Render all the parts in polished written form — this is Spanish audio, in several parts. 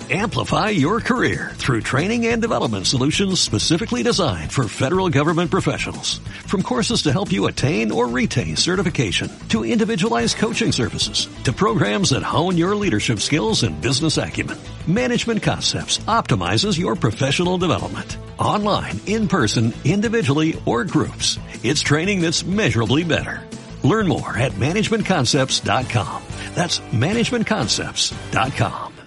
Amplify your career through training and development solutions specifically designed for federal government professionals. From courses to help you attain or retain certification, to individualized coaching services, to programs that hone your leadership skills and business acumen, Management Concepts optimizes your professional development. Online, in person, individually, or groups, it's training that's measurably better. Learn more at managementconcepts.com. That's managementconcepts.com.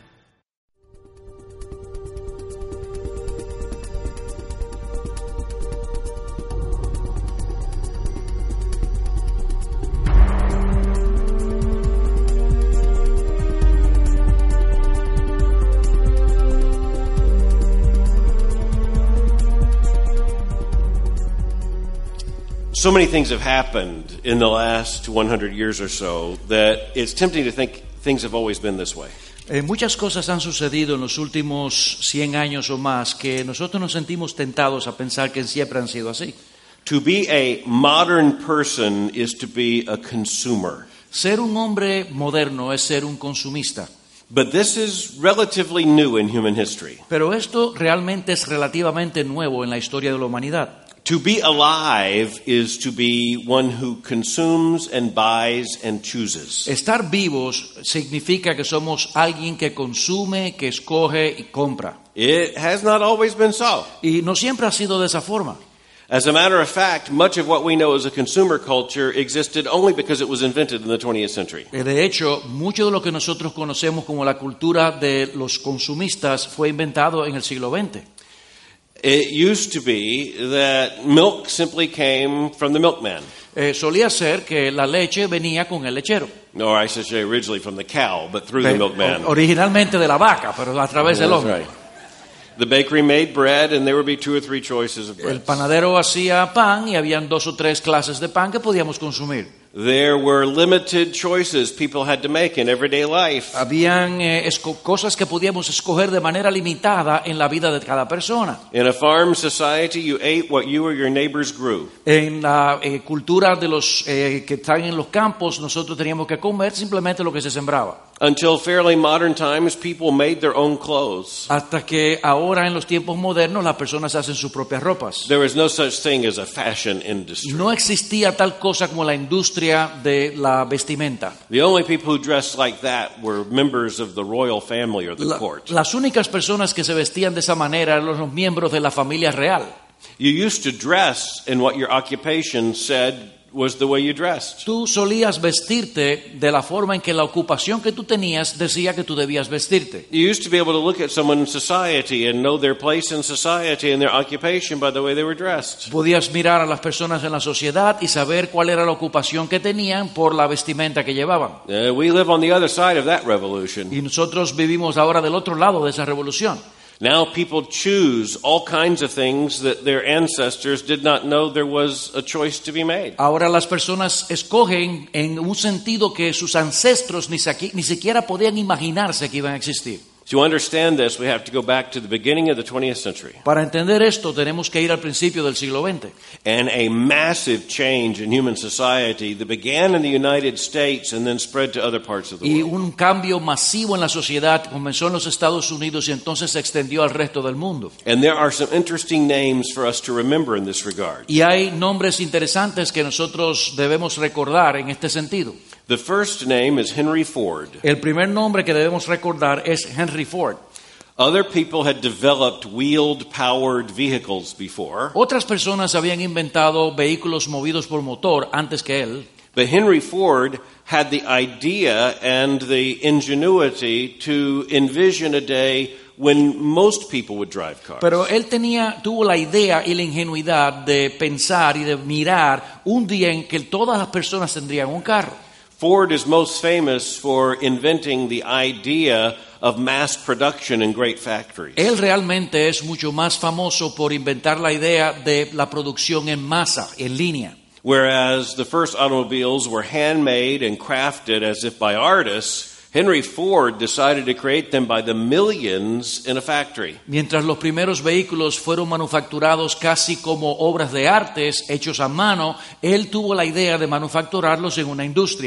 So many things have happened in the last 100 years or so that it's tempting to think things have always been this way. Muchas cosas han sucedido en los últimos 100 años o más que nosotros nos sentimos tentados a pensar que siempre han sido así. To be a modern person is to be a consumer. Ser un hombre moderno es ser un consumista. But this is relatively new in human history. Pero esto realmente es relativamente nuevo en la historia de la humanidad. To be alive is to be one who consumes and buys and chooses. Estar vivos significa que somos alguien que consume, que escoge y compra. It has not always been so. Y no siempre ha sido de esa forma. As a matter of fact, much of what we know as a consumer culture existed only because it was invented in the 20th century. De hecho, mucho de lo que nosotros conocemos como la cultura de los consumistas fue inventado en el siglo XX. It used to be that milk simply came from the milkman. Solía ser que la leche venía con el lechero. Or I should say originally from the cow, but through the milkman. Originalmente de la vaca, pero a través del hombre. Right. The bakery made bread and there would be 2 or 3 choices of bread. El panadero hacía pan y habían 2 o 3 clases de pan que podíamos consumir. There were limited choices people had to make in everyday life. Habían cosas que podíamos escoger de manera limitada en la vida de cada persona. In a farm society, you ate what you or your neighbors grew. En la cultura de los que están en los campos, nosotros teníamos que comer simplemente lo que se sembraba. Until fairly modern times, people made their own clothes. Hasta que ahora en los tiempos modernos las personas hacen sus propias ropas. There was no such thing as a fashion industry. No existía tal cosa como la industria de la vestimenta. The only people who dressed like that were members of the royal family or the court. Las únicas personas que se vestían de esa manera eran los miembros de la familia real. You used to dress in what your occupation said was the way you dressed. Tú solías vestirte de la forma en que la ocupación que tú tenías decía que tú debías vestirte. You used to be able to look at someone in society and know their place in society and their occupation by the way they were dressed. Podías mirar a las personas en la sociedad y saber cuál era la ocupación que tenían por la vestimenta que llevaban. We live on the other side of that revolution. Y nosotros vivimos ahora del otro lado de esa revolución. Now people choose all kinds of things that their ancestors did not know there was a choice to be made. Ahora las personas escogen en un sentido que sus ancestros ni siquiera podían imaginarse que iban a existir. To understand this, we have to go back to the beginning of the 20th century. Para entender esto, tenemos que ir al principio del siglo XX. And a massive change in human society that began in the United States and then spread to other parts of the Y world. un cambio masivo en la sociedad comenzó en los Estados Unidos y entonces se extendió al resto del mundo. And there are some interesting names for us to remember in this regard. Y hay nombres interesantes que nosotros debemos recordar en este sentido. The first name is Henry Ford. El primer nombre que debemos recordar es Henry Ford. Other people had developed wheeled-powered vehicles before. Otras personas habían inventado vehículos movidos por motor antes que él. But Henry Ford had the idea and the ingenuity to envision a day when most people would drive cars. Pero él tuvo la idea y la ingenuidad de pensar y de mirar un día en que todas las personas tendrían un carro. Ford is most famous for inventing the idea of mass production in great factories. Él realmente es mucho más famoso por inventar la idea de la producción en masa, en línea. Whereas the first automobiles were handmade and crafted as if by artists, Henry Ford decided to create them by the millions in a factory. Mientras los primeros vehículos fueron manufacturados casi como obras de artes hechos a mano, él tuvo la idea de manufacturarlos en una industria.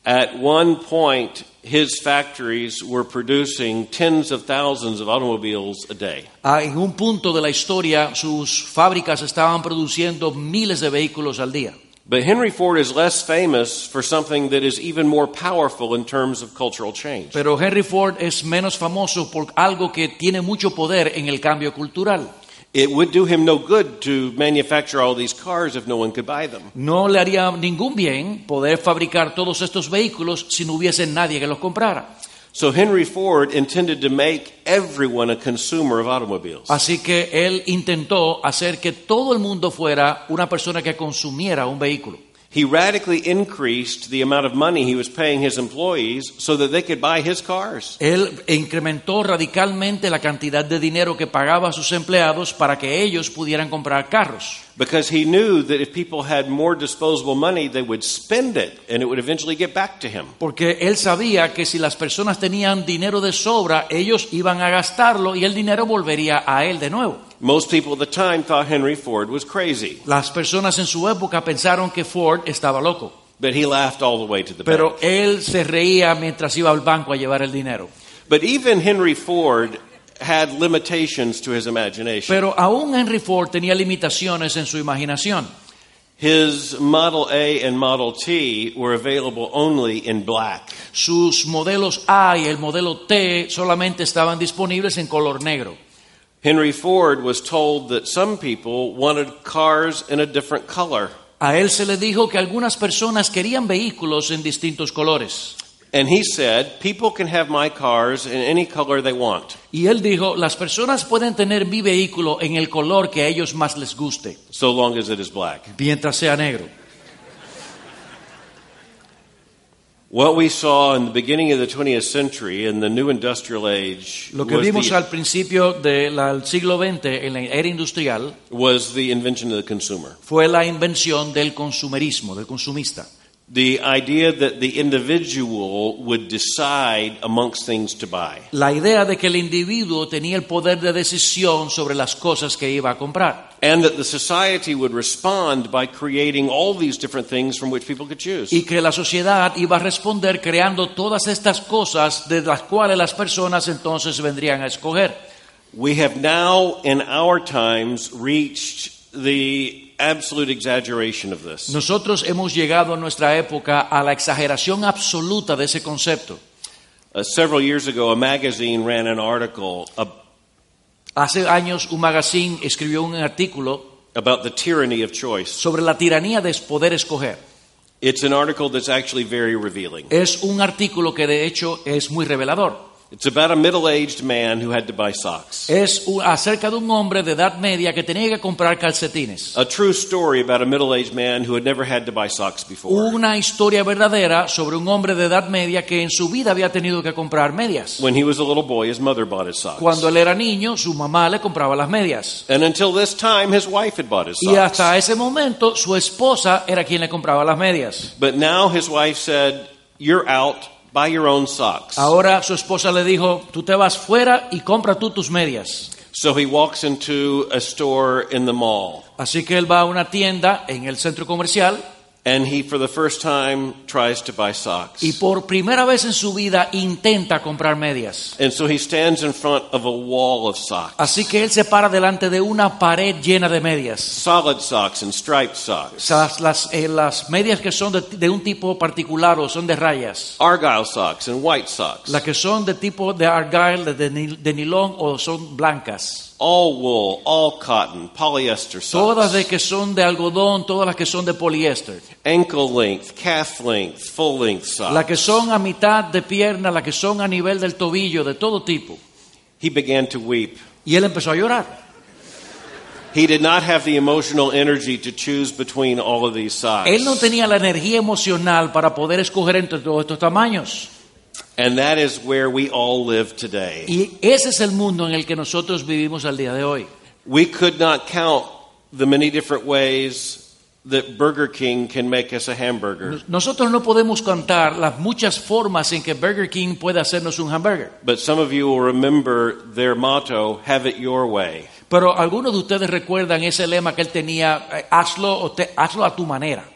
At one point, his factories were producing tens of thousands of automobiles a day. En un punto de la historia, sus fábricas estaban produciendo miles de vehículos al día. But Henry Ford is less famous for something that is even more powerful in terms of cultural change. Pero Henry Ford es menos famoso por algo que tiene mucho poder en el cambio cultural. It would do him no good to manufacture all these cars if no one could buy them. No le haría ningún bien poder fabricar todos estos vehículos si no hubiese nadie que los comprara. So Henry Ford intended to make everyone a consumer of automobiles. Así que él intentó hacer que todo el mundo fuera una persona que consumiera un vehículo. He radically increased the amount of money he was paying his employees so that they could buy his cars. Él incrementó radicalmente la cantidad de dinero que pagaba a sus empleados para que ellos pudieran comprar carros. Because he knew that if people had more disposable money, they would spend it and it would eventually get back to him. Porque él sabía que si las personas tenían dinero de sobra, ellos iban a gastarlo y el dinero volvería a él de nuevo. Most people at the time thought Henry Ford was crazy, Las personas en su época pensaron que Ford estaba loco, but he laughed all the way to the pero bank. él se reía mientras iba al banco a llevar el dinero. But even Henry Ford had limitations to his imagination. Pero aún Henry Ford tenía limitaciones en su imaginación. His Model A and Model T were available only in black. Sus modelos A y el modelo T solamente estaban disponibles en color negro. Henry Ford was told that some people wanted cars in a different color. A él se le dijo que algunas personas querían vehículos en distintos colores. And he said, people can have my cars in any color they want, Y él dijo, las personas pueden tener mi vehículo en el color que a ellos más les guste, so long as it is black. mientras sea negro. What we saw in the beginning of the 20th century in the new industrial age Lo que vimos al principio del siglo XX, en la era industrial, was the invention of the consumer. fue la invención del consumerismo, del consumista. The idea that the individual would decide amongst things to buy. La idea de que el individuo tenía el poder de decisión sobre las cosas que iba a comprar. And that the society would respond by creating all these different things from which people could choose. Y que la sociedad iba a responder creando todas estas cosas de las cuales las personas entonces vendrían a escoger. We have now, in our times, reached the absolute exaggeration of this. Nosotros hemos llegado en nuestra época a la exageración absoluta de ese concepto. Several years ago, a magazine ran an article Hace años un magazine escribió un artículo about the tyranny of choice. sobre la tiranía de poder escoger. It's an article that's actually very revealing. Es un artículo que de hecho es muy revelador. It's about a middle-aged man who had to buy socks. Es acerca de un hombre de edad media que tenía que comprar calcetines. A true story about a middle-aged man who had never had to buy socks before. Una historia verdadera sobre un hombre de edad media que en su vida había tenido que comprar medias. When he was a little boy, his mother bought his socks. Cuando él era niño, su mamá le compraba las medias. And until this time, his wife had bought his Y socks. hasta ese momento, su esposa era quien le compraba las medias. But now his wife said, "You're out. Buy your own socks." Ahora su esposa le dijo, tú te vas fuera y compra tú tus medias. So he walks into a store in the mall. Así que él va a una tienda en el centro comercial And he, for the first time, tries to buy socks. y por primera vez en su vida intenta comprar medias. And so he stands in front of a wall of socks. Así que él se para delante de una pared llena de medias. Solid socks and striped O socks. sea, las medias que son de un tipo particular o son de rayas. Argyle socks and white socks. Las que son de tipo de argyle, de nilón o son blancas. All wool, all cotton, polyester Todas socks. de que son de algodón, todas las que son de poliéster. Ankle length, calf length, full length socks. Las que son a mitad de pierna, las que son a nivel del tobillo, de todo tipo. He began to weep. Y él empezó a llorar. He did not have the emotional energy to choose between all of these socks. Él no tenía la energía emocional para poder escoger entre todos estos tamaños. And that is where we all live today. Y ese es el mundo en el que nosotros vivimos al día de hoy. We could not count the many different ways that Burger King can make us a hamburger. Nosotros no podemos contar las muchas formas en que Burger King puede hacernos un hamburger. But some of you will remember their motto, have it your way. Pero algunos de ustedes recuerdan ese lema que él tenía, hazlo a tu manera.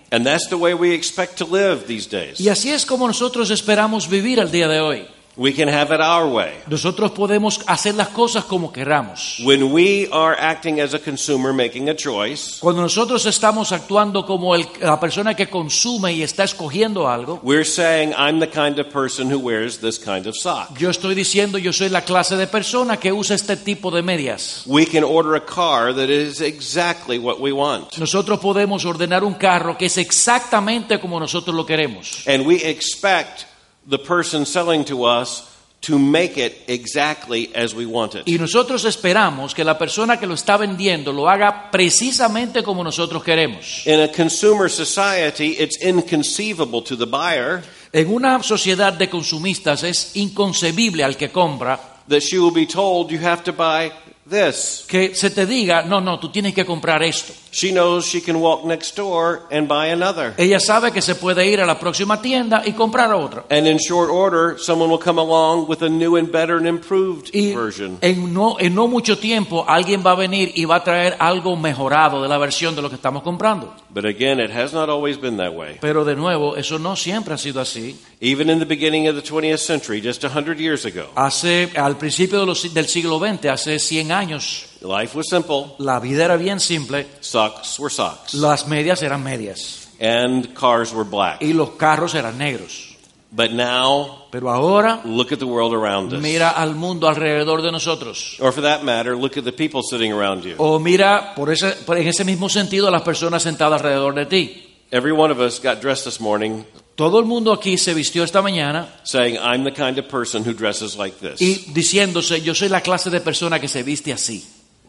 And that's the way we expect to live these days. Y así es como nosotros esperamos vivir al día de hoy. We can have it our way. Nosotros podemos hacer las cosas como queramos. When we are acting as a consumer, making a choice, Cuando nosotros estamos actuando como la persona que consume y está escogiendo algo, we're saying, I'm the kind of person who wears this kind of sock. yo estoy diciendo yo soy la clase de persona que usa este tipo de medias. We can order a car that is exactly what we want. Nosotros podemos ordenar un carro que es exactamente como nosotros lo queremos. And we expect the person selling to us to make it exactly as we want it. Y nosotros esperamos que la persona que lo está vendiendo lo haga precisamente como nosotros queremos. In a consumer society, it's inconceivable to the buyer En una sociedad de consumistas es inconcebible al que compra that she will be told you have to buy this. que se te diga, no, tú tienes que comprar esto. She knows she can walk next door and buy another. Ella sabe que se puede ir a la próxima tienda y comprar otra. And in short order, someone will come along with a new and better and improved Y version. en no mucho tiempo alguien va a venir y va a traer algo mejorado de la versión de lo que estamos comprando. But again, it has not always been that way. Pero de nuevo, eso no siempre ha sido así. Even in the beginning of the 20th century, just 100 years ago, Al principio del siglo XX, hace 100 años, life was simple. la vida era bien simple. Socks were socks. Las medias eran medias And cars were black. y los carros eran negros. But now, Pero ahora look at the world around us. mira al mundo alrededor de nosotros. Or for that matter, look at the people sitting around you. O mira, en ese mismo sentido, a las personas sentadas alrededor de ti. Every one of us got dressed this morning Todo el mundo aquí se vistió esta mañana saying, I'm the kind of person who dresses like this. y diciéndose, yo soy la clase de persona que se viste así.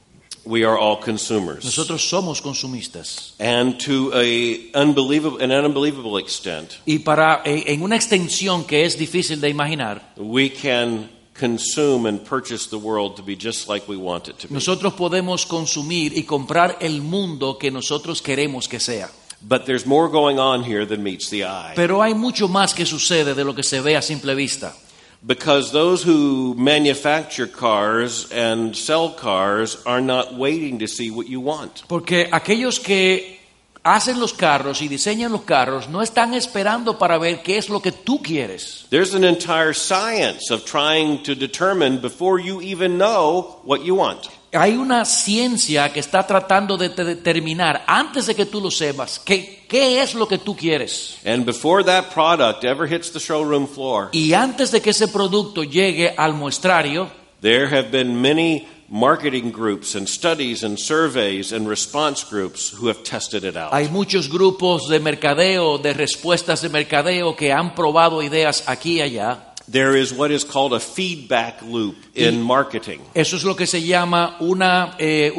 We are all consumers. Nosotros somos consumistas. And to an unbelievable extent, Y en una extensión que es difícil de imaginar, we can consume and purchase the world to be just like we want it to be. nosotros podemos consumir y comprar el mundo que nosotros queremos que sea. But there's more going on here than meets the eye. Pero hay mucho más que sucede de lo que se ve a simple vista. Because those who manufacture cars and sell cars are not waiting to see what you want. Porque aquellos que hacen los carros y diseñan los carros no están esperando para ver qué es lo que tú quieres. There's an entire science of trying to determine before you even know what you want. Hay una ciencia que está tratando de determinar, antes de que tú lo sepas, qué es lo que tú quieres. And before that product ever hits the showroom floor, Y antes de que ese producto llegue al muestrario, there have been many marketing groups and studies and surveys and response groups who have tested it out. hay muchos grupos de mercadeo, de respuestas de mercadeo que han probado ideas aquí y allá. There is what is called a feedback loop in marketing. Eso es lo que se llama una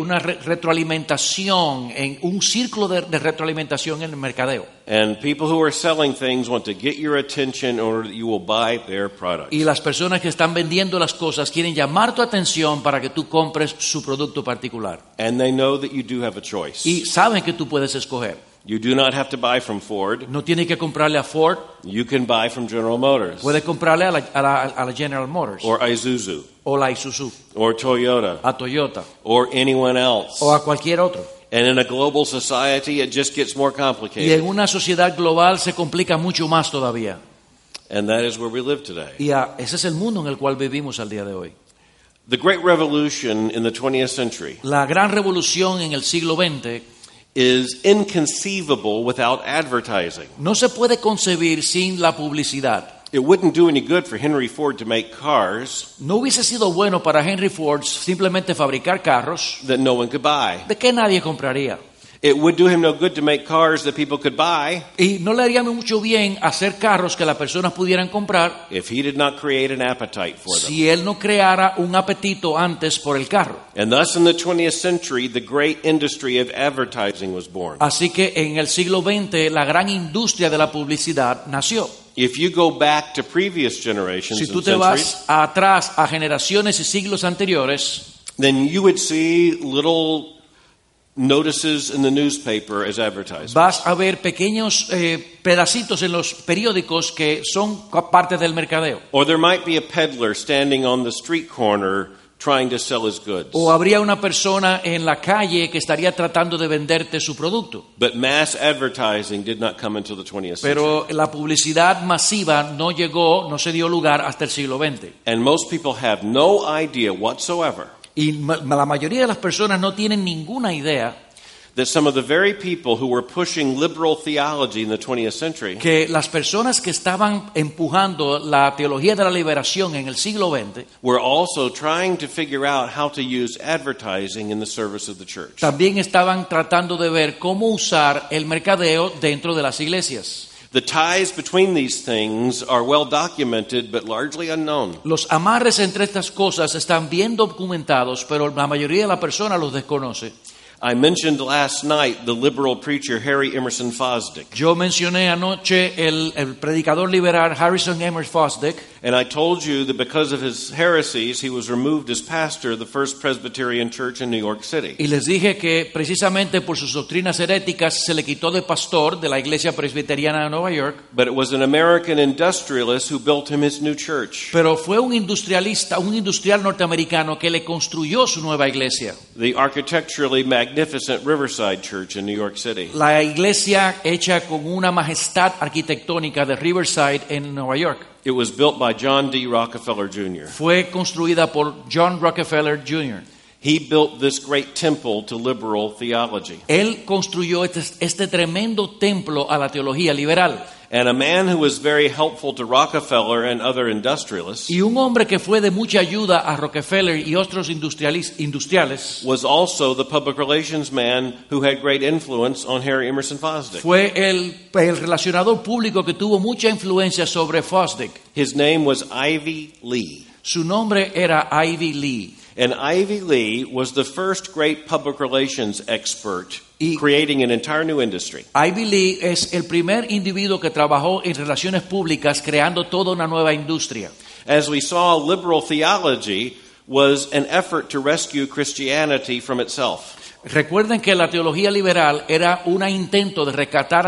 retroalimentación, un círculo de retroalimentación en el mercadeo. And people who are selling things want to get your attention in order that you will buy their product. Y las personas que están vendiendo las cosas quieren llamar tu atención para que tú compres su producto particular. And they know that you do have a choice. Y saben que tú puedes escoger. You do not have to buy from Ford. No tienes que comprarle a Ford, You can buy from General Motors puedes comprarle a la General Motors or Isuzu o la Isuzu, or Toyota a Toyota or anyone else. o a cualquier otro. And in a global society, it just gets more Y complicated. en una sociedad global se complica mucho más todavía. And that is where we live today. Y ese es el mundo en el cual vivimos al día de hoy. The Great Revolution in the 20th century La gran revolución en el siglo XX is inconceivable without advertising. no se puede concebir sin la publicidad. It wouldn't do any good for Henry Ford to make cars No hubiese sido bueno para Henry Ford simplemente fabricar carros that no one could buy. de que nadie compraría. It would do him no good to make cars that people could buy Y no le haría mucho bien hacer carros que las personas pudieran comprar if he did not create an appetite for them. si él no creara un apetito antes por el carro. And thus in the 20th century, the great industry of advertising was born. Así que en el siglo XX la gran industria de la publicidad nació. If you go back to previous generations Si tú and te centuries, vas atrás a generaciones y siglos anteriores, then you would see little notices in the newspaper as advertisements. vas a ver pequeños pedacitos en los periódicos que son parte del mercadeo. Or there might be a peddler standing on the street corner trying to sell his goods. O habría una persona en la calle que estaría tratando de venderte su producto. But mass advertising did not come until the 20th century. Pero la publicidad masiva no se dio lugar hasta el siglo XX. And most people have no idea whatsoever Y la mayoría de las personas no tienen ninguna idea that some of the very people who were pushing liberal theology in the 20th century que las personas que estaban empujando la teología de la liberación en el siglo XX were also trying to figure out how to use advertising in the service of the church. también estaban tratando de ver cómo usar el mercadeo dentro de las iglesias. The ties between these things are well documented but largely unknown. Los amarres entre estas cosas están bien documentados, pero la mayoría de la persona los desconoce. I mentioned last night the liberal preacher Harry Emerson Fosdick. Yo mencioné anoche el predicador liberal Harrison Emerson Fosdick. And I told you that because of his heresies, he was removed as pastor of the First Presbyterian Church in New York City. Y les dije que precisamente por sus doctrinas heréticas se le quitó de pastor de la iglesia presbiteriana de Nueva York. But it was an American industrialist who built him his new church. Pero fue un industrial norteamericano que le construyó su nueva iglesia. The architecturally magnificent Riverside Church in New York City. La iglesia hecha con una majestad arquitectónica de Riverside en Nueva York. It was built by John D. Rockefeller Jr. Fue construida por John Rockefeller Jr. He built this great temple to liberal theology. Él construyó este tremendo templo a la teología liberal. And a man who was very helpful to Rockefeller and other industrialists Y un hombre que fue de mucha ayuda a Rockefeller y otros industriales was also the public relations man who had great influence on Harry Emerson Fosdick. fue el relacionador público que tuvo mucha influencia sobre Fosdick. His name was Ivy Lee. Su nombre era Ivy Lee. And Ivy Lee was the first great public relations expert Y- creating an entire new industry. Ivy Lee es el primer individuo que trabajó en relaciones públicas creando toda una nueva industria. As we saw, liberal theology was an effort to rescue Christianity from itself. Recuerden que la teología liberal era un intento de rescatar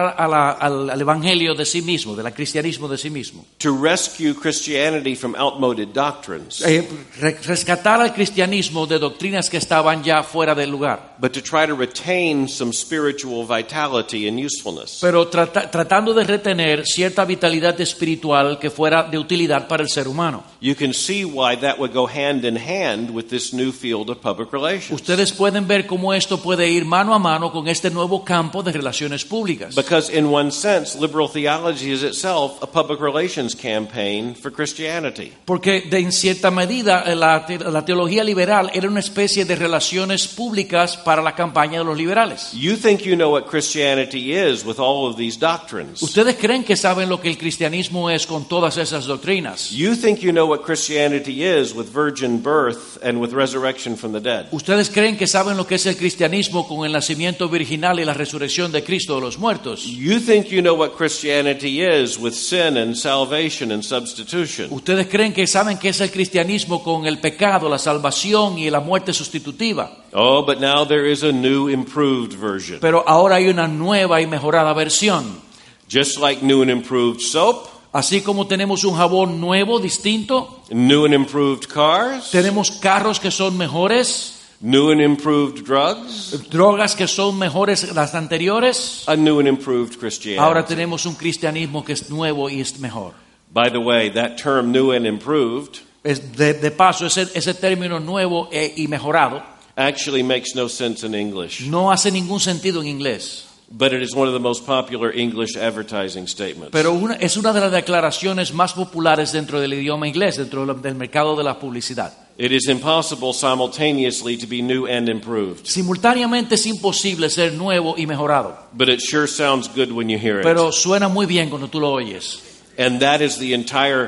al evangelio de sí mismo, del cristianismo de sí mismo. To rescue Christianity from outmoded doctrines, Rescatar al cristianismo de doctrinas que estaban ya fuera del lugar. but to try to retain some spiritual vitality and usefulness. Pero tratando de retener cierta vitalidad espiritual que fuera de utilidad para el ser humano. You can see why that would go hand in hand with this new field of public relations. Ustedes pueden ver cómo esto puede ir mano a mano con este nuevo campo de relaciones públicas. Because in one sense, liberal theology is itself a public relations campaign for Christianity. Porque en cierta medida la teología liberal era una especie de relaciones públicas para la campaña de los liberales. You think you know what Christianity is with all of these doctrines. Ustedes creen que saben lo que el cristianismo es con todas esas doctrinas. You think you know what Christianity is with virgin birth and with resurrection from the dead. Ustedes creen que saben lo que es el cristianismo con el nacimiento virginal y la resurrección de Cristo de los muertos. You think you know what Christianity is with sin and salvation and substitution. Ustedes creen que saben qué es el cristianismo con el pecado, la salvación y la muerte sustitutiva. Oh, but now there is a new improved version. Pero ahora hay una nueva y mejorada versión. Just like new and improved soap, Así como tenemos un jabón nuevo, distinto, new and improved cars, tenemos carros que son mejores, new and improved drugs, drogas que son mejores que las anteriores. a new and improved Christianity. Ahora tenemos un cristianismo que es nuevo y es mejor. By the way, that term new and improved De paso, ese término nuevo y mejorado actually makes no sense in English, no hace ningún sentido en inglés. but it is one of the most popular English advertising statements. Pero es una de las declaraciones más populares dentro del idioma inglés, dentro del mercado de la publicidad. It is impossible simultaneously to be new and improved, Simultáneamente es imposible ser nuevo y mejorado, but it sure sounds good when you hear it. pero suena muy bien cuando tú lo oyes. And that is the entire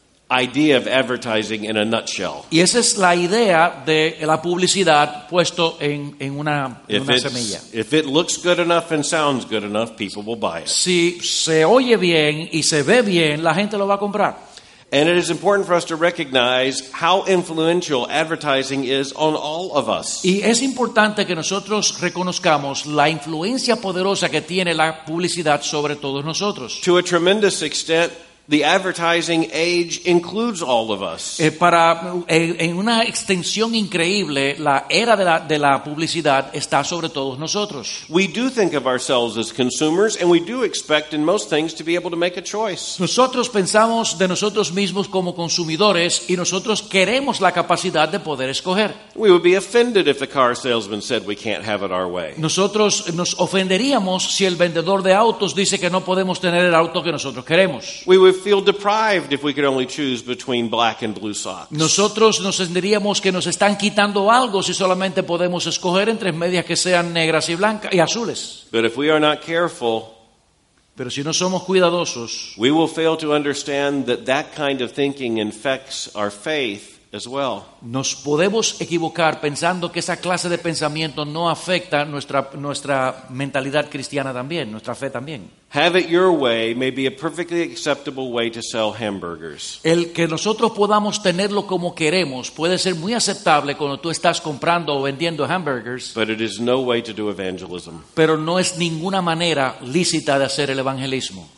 idea of advertising in a nutshell. Y esa es la idea de la publicidad puesto en una semilla. If it looks good enough and sounds good enough, people will buy it. Si se oye bien y se ve bien, la gente lo va a comprar. And it is important for us to recognize how influential advertising is on all of us. Y es importante que nosotros reconozcamos la influencia poderosa que tiene la publicidad sobre todos nosotros. To a tremendous extent, The advertising age includes all of us. En una extensión increíble, la era de la publicidad está sobre todos nosotros. We do think of ourselves as consumers, and we do expect in most things to be able to make a choice. Nosotros pensamos de nosotros mismos como consumidores y nosotros queremos la capacidad de poder escoger. We would be offended if the car salesman said we can't have it our way. Nosotros nos ofenderíamos si el vendedor de autos dice que no podemos tener el auto que nosotros queremos. We would feel deprived if we could only choose between black and blue socks. Nosotros nos sentiríamos que nos están quitando algo si solamente podemos escoger entre medias que sean negras y blancas y azules. But if we are not careful, pero si no somos cuidadosos, we will fail to understand that that kind of thinking infects our faith as well. Nos podemos equivocar pensando que esa clase de pensamiento no afecta nuestra mentalidad cristiana también, nuestra fe también. Have it your way may be a perfectly acceptable way to sell hamburgers. El que nosotros podamos tenerlo como queremos puede ser muy aceptable cuando tú estás comprando o vendiendo hamburgers, But it is no way to do evangelism. pero no es ninguna manera lícita de hacer el evangelismo.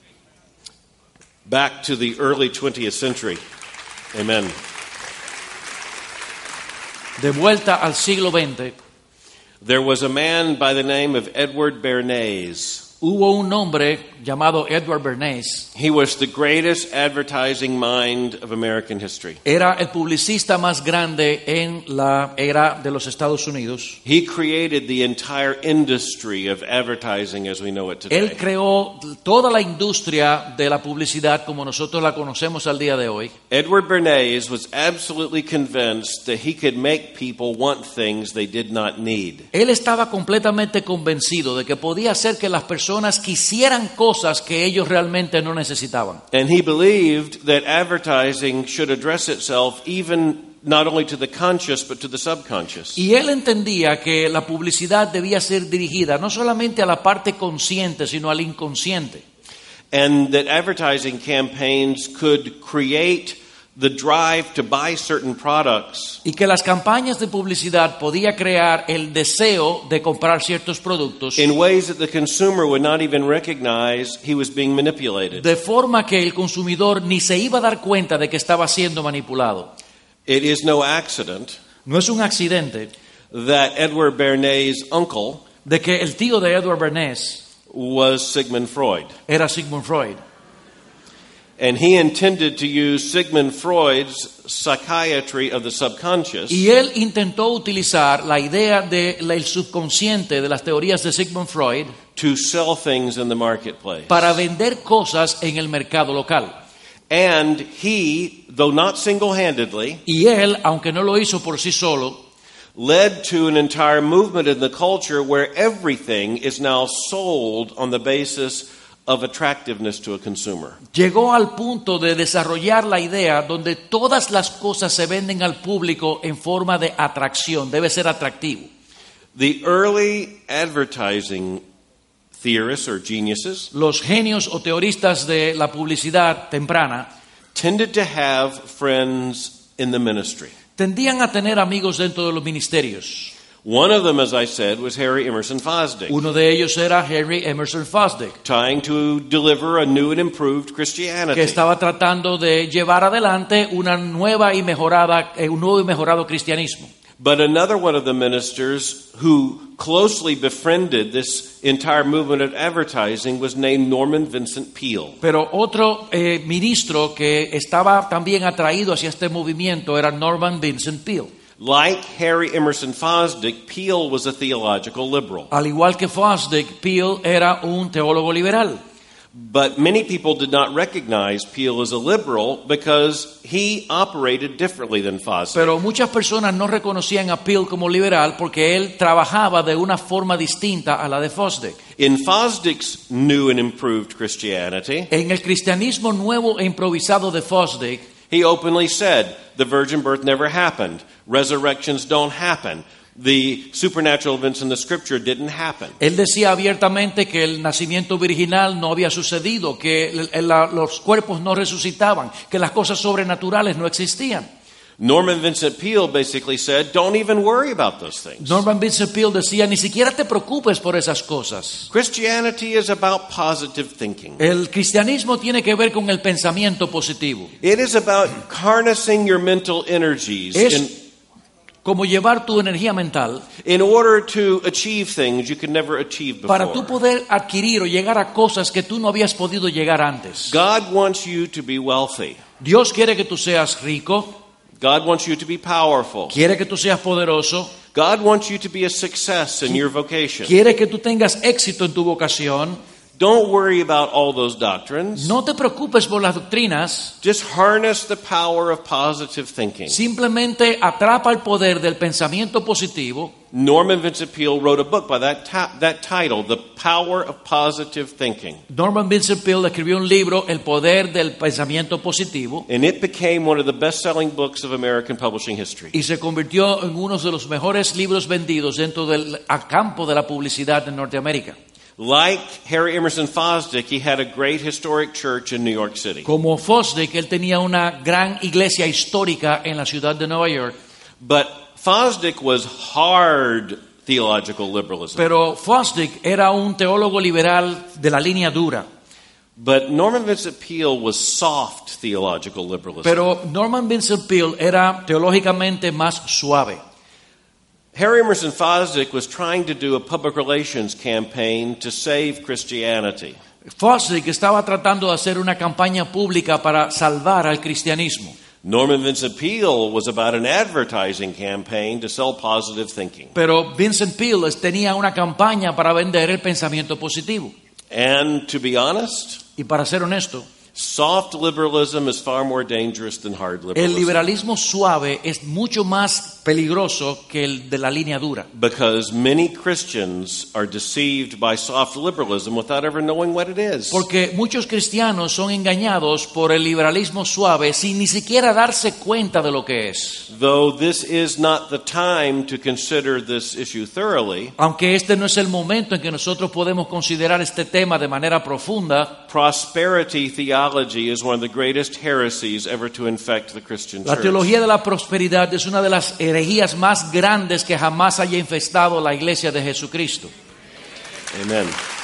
Back to the early 20th century. Amen. De vuelta al siglo XX, There was a man by the name of Edward Bernays. hubo un hombre llamado Edward Bernays. He was the greatest advertising mind of American history. Era el publicista más grande en la era de los Estados Unidos. He created the entire industry of advertising as we know it Él today. creó toda la industria de la publicidad como nosotros la conocemos al día de hoy. Edward Bernays was absolutely convinced that he could make people want things they did not need. Él estaba completamente convencido de que podía hacer que las personas quisieran cosas que ellos realmente no necesitaban. And he believed that advertising should address itself even not only to the conscious but to the subconscious. Y él entendía que la publicidad debía ser dirigida no solamente a la parte consciente, sino al inconsciente. And that advertising campaigns could create the drive to buy certain products Y que las campañas de publicidad podía crear el deseo de comprar ciertos productos in ways that the consumer would not even recognize he was being manipulated. de forma que el consumidor ni se iba a dar cuenta de que estaba siendo manipulado. It is no accident No es un accidente that Edward Bernays' uncle de que el tío de Edward Bernays was Sigmund Freud. era Sigmund Freud. And he intended to use Sigmund Freud's psychiatry of the subconscious Y él intentó utilizar la idea del subconsciente de las teorías de Sigmund Freud to sell things in the marketplace. para vender cosas en el mercado local. And he, though not single-handedly, Y él, aunque no lo hizo por sí solo, led to an entire movement in the culture where everything is now sold on the basis of attractiveness to a consumer. llegó al punto de desarrollar la idea donde todas las cosas se venden al público en forma de atracción, debe ser atractivo. The early advertising theorists or geniuses Los genios o teoristas de la publicidad temprana tended to have friends in the ministry. tendían a tener amigos dentro de los ministerios. One of them, as I said, was Harry Emerson Fosdick, Uno de ellos era Henry Emerson Fosdick, trying to deliver a new and improved que Christianity. estaba tratando de llevar adelante un nuevo y mejorado cristianismo. But another one of the ministers who closely befriended this entire movement of advertising was named Norman Vincent Peale. Pero otro ministro que estaba también atraído hacia este movimiento era Norman Vincent Peale. Like Harry Emerson Fosdick, Peale was a theological liberal. Al igual que Fosdick, Peale era un teólogo liberal. But many people did not recognize Peale as a liberal because he operated differently than Fosdick. Pero muchas personas no reconocían a Peale como liberal porque él trabajaba de una forma distinta a la de Fosdick. In Fosdick's new and improved Christianity, En el cristianismo nuevo e improvisado de Fosdick, he openly said the virgin birth never happened, resurrections don't happen, the supernatural events in the scripture didn't happen. él decía abiertamente que el nacimiento virginal no había sucedido, que los cuerpos no resucitaban, que las cosas sobrenaturales no existían. Norman Vincent Peale basically said, don't even worry about those things. Norman Vincent Peale decía, ni siquiera te preocupes por esas cosas. Christianity is about positive thinking. El cristianismo tiene que ver con el pensamiento positivo. It is about harnessing your mental energies Es como llevar tu energía mental in order to achieve things you could never achieve para tú before. poder adquirir o llegar a cosas que tú no habías podido llegar antes. God wants you to be wealthy. Dios quiere que tú seas rico, God wants you to be powerful. quiere que tú seas poderoso, God wants you to be a success in your vocation. quiere que tú tengas éxito en tu vocación. Don't worry about all those doctrines. No te preocupes por las doctrinas, Just harness the power of positive thinking. simplemente atrapa el poder del pensamiento positivo. Norman Vincent Peale wrote a book by that title, The Power of Positive Thinking. Norman Vincent Peale escribió un libro, El poder del pensamiento positivo, And it became one of the best-selling books of American publishing history. y se convirtió en uno de los mejores libros vendidos dentro del campo de la publicidad en Norteamérica. Like Harry Emerson Fosdick, he had a great historic church in New York City. Como Fosdick, él tenía una gran iglesia histórica en la ciudad de Nueva York, But Fosdick was hard theological liberalism. pero Fosdick era un teólogo liberal de la línea dura. But Norman Vincent Peale was soft theological liberalism. Pero Norman Vincent Peale era teológicamente más suave. Harry Emerson Fosdick was trying to do a public relations campaign to save Christianity. Fosdick estaba tratando de hacer una campaña pública para salvar al cristianismo. Norman Vincent Peale was about an advertising campaign to sell positive thinking. Pero Vincent Peale tenía una campaña para vender el pensamiento positivo. And to be honest, Y para ser honesto, soft liberalism is far more dangerous than hard el liberalism. liberalismo suave es mucho más peligroso que el de la línea dura. Because many Christians are deceived by soft liberalism without ever knowing what it is. Porque muchos cristianos son engañados por el liberalismo suave sin ni siquiera darse cuenta de lo que es. Though this is not the time to consider this issue thoroughly, Aunque este no es el momento en que nosotros podemos considerar este tema de manera profunda, prosperity theology is one of the greatest heresies ever to infect the Christian la church. teología de la prosperidad es una de las herejías más grandes que jamás haya infestado la iglesia de Jesucristo. Amen.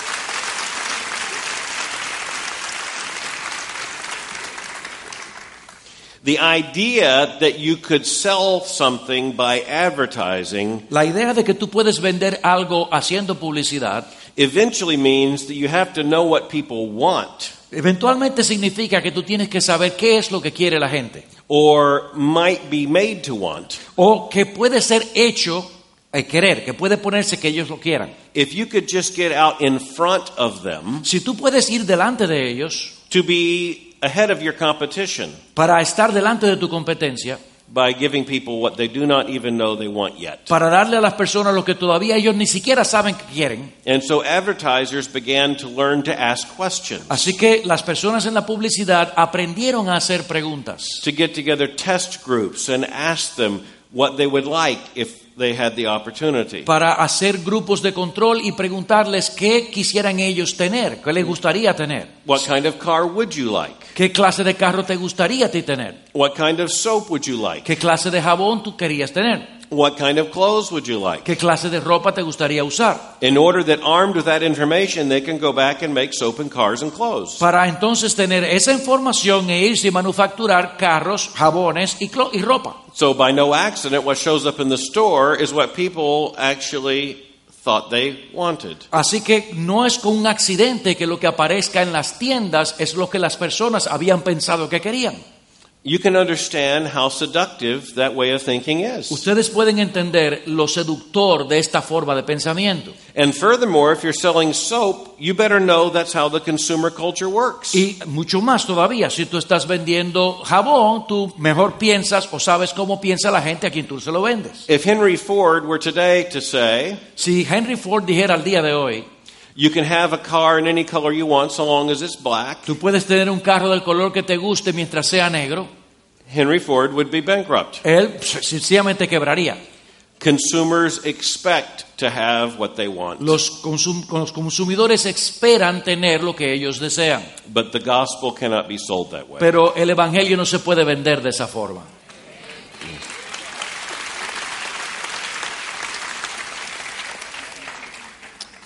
The idea that you could sell something by advertising La idea de que tú puedes vender algo haciendo publicidad eventually means that you have to know what people want eventualmente significa que tú tienes que saber qué es lo que quiere la gente or might be made to want. o que puede ser hecho querer, que puede ponerse que ellos lo quieran. If you could just get out in front of them Si tú puedes ir delante de ellos to be ahead of your competition para estar delante de tu competencia, by giving people what they do not even know they want yet. para darle a las personas lo que todavía ellos ni siquiera saben que quieren. And so advertisers began to learn to ask questions, Así que las personas en la publicidad aprendieron a hacer preguntas, to get together test groups and ask them what they would like if they had the opportunity. para hacer grupos de control y preguntarles qué quisieran ellos tener, qué les gustaría tener, What kind of car would you like? qué clase de carro te gustaría a ti tener, What kind of soap would you like? qué clase de jabón tú querías tener, What kind of clothes would you like? qué clase de ropa te gustaría usar, In order that armed with that information, they can go back and make soap and cars and clothes. para entonces tener esa información e irse a manufacturar carros, jabones y ropa. So by no accident, what shows up in the store is what people actually thought they wanted. Así que no es con un accidente que lo que aparezca en las tiendas es lo que las personas habían pensado que querían. You can understand how seductive that way of thinking is. Ustedes pueden entender lo seductor de esta forma de pensamiento. And furthermore, if you're selling soap, you better know that's how the consumer culture works. Y mucho más todavía, si tú estás vendiendo jabón, tú mejor piensas o sabes cómo piensa la gente a quien tú se lo vendes. If Henry Ford were today to say, Si Henry Ford dijera al día de hoy, you can have a car in any color you want so long as it's black, tú puedes tener un carro del color que te guste mientras sea negro, Henry Ford would be bankrupt. él sencillamente quebraría. Consumers expect to have what they want. Los consumidores esperan tener lo que ellos desean, But the gospel cannot be sold that way. pero el evangelio no se puede vender de esa forma.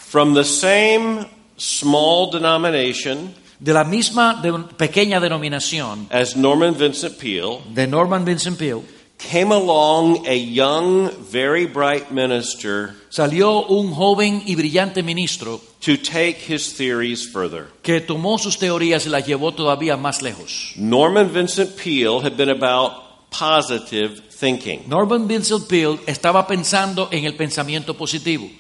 From the same small denomination de la misma pequeña denominación as Norman Vincent Peale, de Norman Vincent Peale, came along a young, very bright minister salió un joven y brillante ministro to take his theories further. que tomó sus teorías y las llevó todavía más lejos. Norman Vincent Peale had been about positive thinking. Norman Vincent Peale estaba pensando en el pensamiento positivo.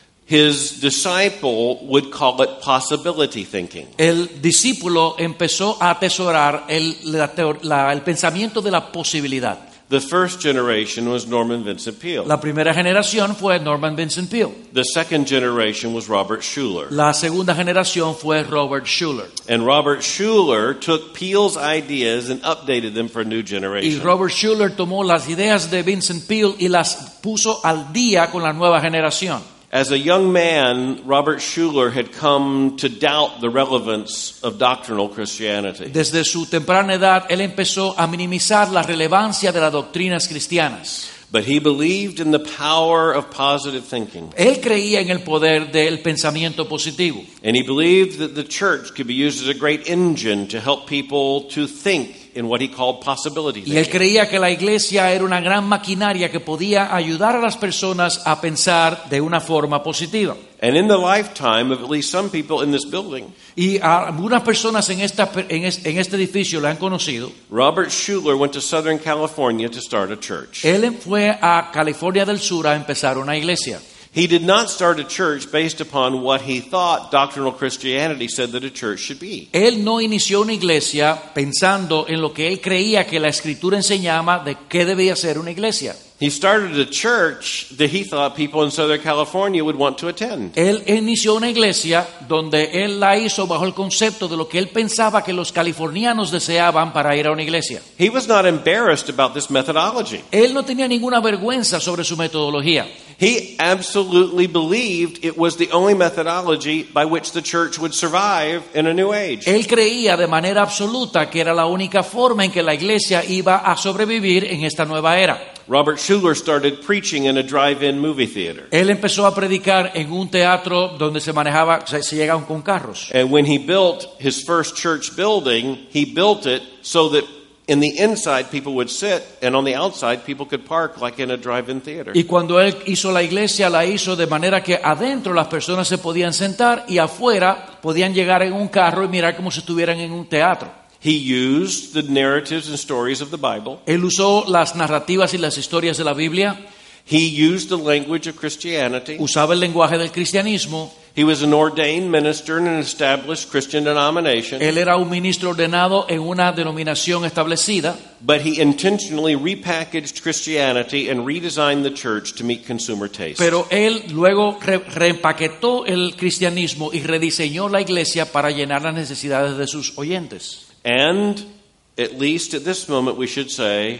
His disciple would call it possibility thinking. El discípulo empezó a atesorar el pensamiento de la posibilidad. The first generation was Norman Vincent Peale. La primera generación fue Norman Vincent Peale. The second generation was Robert Schuller. La segunda generación fue Robert Schuller. And Robert Schuller took Peale's ideas and updated them for a new Y generation. Robert Schuller tomó las ideas de Vincent Peale y las puso al día con la nueva generación. As a young man, Robert Schuller had come to doubt the relevance of doctrinal Christianity. Desde su temprana edad, él empezó a minimizar la relevancia de las doctrinas cristianas. But he believed in the power of positive thinking. Él creía en el poder del pensamiento positivo. And he believed that the church could be used as a great engine to help people to think in what he called possibility Y él thinking. creía que la iglesia era una gran maquinaria que podía ayudar a las personas a pensar de una forma positiva. And in the lifetime of at least some people in this building, Y a algunas personas en este edificio la han conocido. Robert Schuller went to Southern California to start a church. Él fue a California del Sur a empezar una iglesia. He did not start a church based upon what he thought doctrinal Christianity said that a church should be. Él no inició una iglesia pensando en lo que él creía que la Escritura enseñaba de qué debía ser una iglesia. He started a church that he thought people in Southern California would want to attend. Él inició una iglesia donde él la hizo bajo el concepto de lo que él pensaba que los californianos deseaban para ir a una iglesia. He was not embarrassed about this methodology. Él no tenía ninguna vergüenza sobre su metodología. He absolutely believed it was the only methodology by which the church would survive in a new age. Él creía de manera absoluta que era la única forma en que la iglesia iba a sobrevivir en esta nueva era. Robert Schuller started preaching in a drive-in movie theater. Él empezó a predicar en un teatro donde se llegaban con carros. And when he built his first church building, he built it so that in the inside people would sit and on the outside people could park like in a drive-in theater. Y cuando él hizo la iglesia, la hizo de manera que adentro las personas se podían sentar y afuera podían llegar en un carro y mirar como si estuvieran en un teatro. He used the narratives and stories of the Bible. Él usó las narrativas y las historias de la Biblia, He used the language of Christianity. usaba el lenguaje del cristianismo. He was an ordained minister in an established Christian denomination. Él era un ministro ordenado en una denominación establecida, But he intentionally repackaged Christianity and redesigned the church to meet consumer tastes. pero él luego reempaquetó el cristianismo y rediseñó la iglesia para llenar las necesidades de sus oyentes. And at least at this moment we should say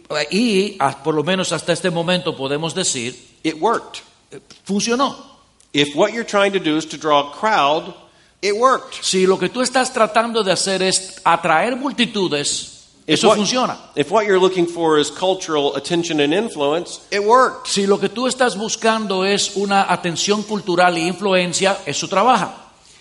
Y por lo menos hasta este momento podemos decir, it worked. funcionó. If what you're trying to do is to draw a crowd, it worked. Si lo que tú estás tratando de hacer es atraer multitudes, eso funciona. If what you're looking for is cultural attention and influence, it worked. Si lo que tú estás buscando es una atención cultural e influencia, eso trabaja.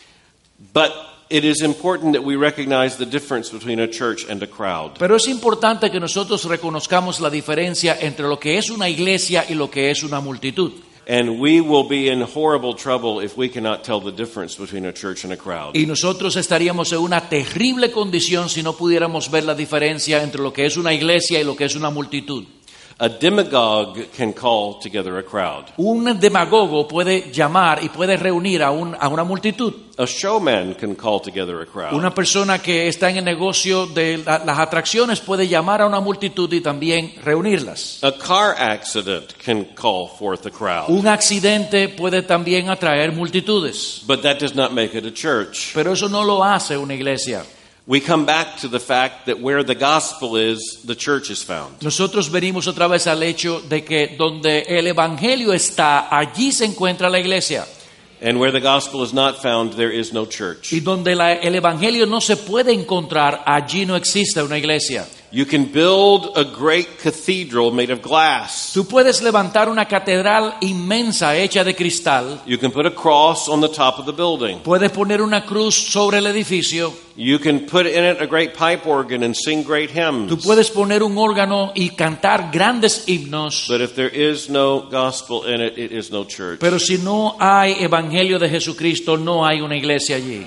But it is important that we recognize the difference between a church and a crowd. Pero es importante que nosotros reconozcamos la diferencia entre lo que es una iglesia y lo que es una multitud. And we will be in horrible trouble if we cannot tell the difference between a church and a crowd. Y nosotros estaríamos en una terrible condición si no pudiéramos ver la diferencia entre lo que es una iglesia y lo que es una multitud. A demagogue can call together a crowd. Un demagogo puede llamar y puede reunir a una multitud. A showman can call together a crowd. Una persona que está en el negocio de las atracciones puede llamar a una multitud y también reunirlas. A car accident can call forth a crowd. Un accidente puede también atraer multitudes. But that does not make it a church. Pero eso no lo hace una iglesia. We come back to the fact that where the gospel is, the church is found. Nosotros venimos otra vez al hecho de que donde el evangelio está, allí se encuentra la iglesia. And where the gospel is not found, there is no church. Y donde el evangelio no se puede encontrar, allí no existe una iglesia. You can build a great cathedral made of glass. Tú puedes levantar una catedral inmensa hecha de cristal. You can put a cross on the top of the building. Puedes poner una cruz sobre el edificio. You can put in it a great pipe organ and sing great Tú hymns. puedes poner un órgano y cantar grandes himnos. But if there is no gospel in it, it is no church. Pero si no hay evangelio de Jesucristo, no hay una iglesia allí.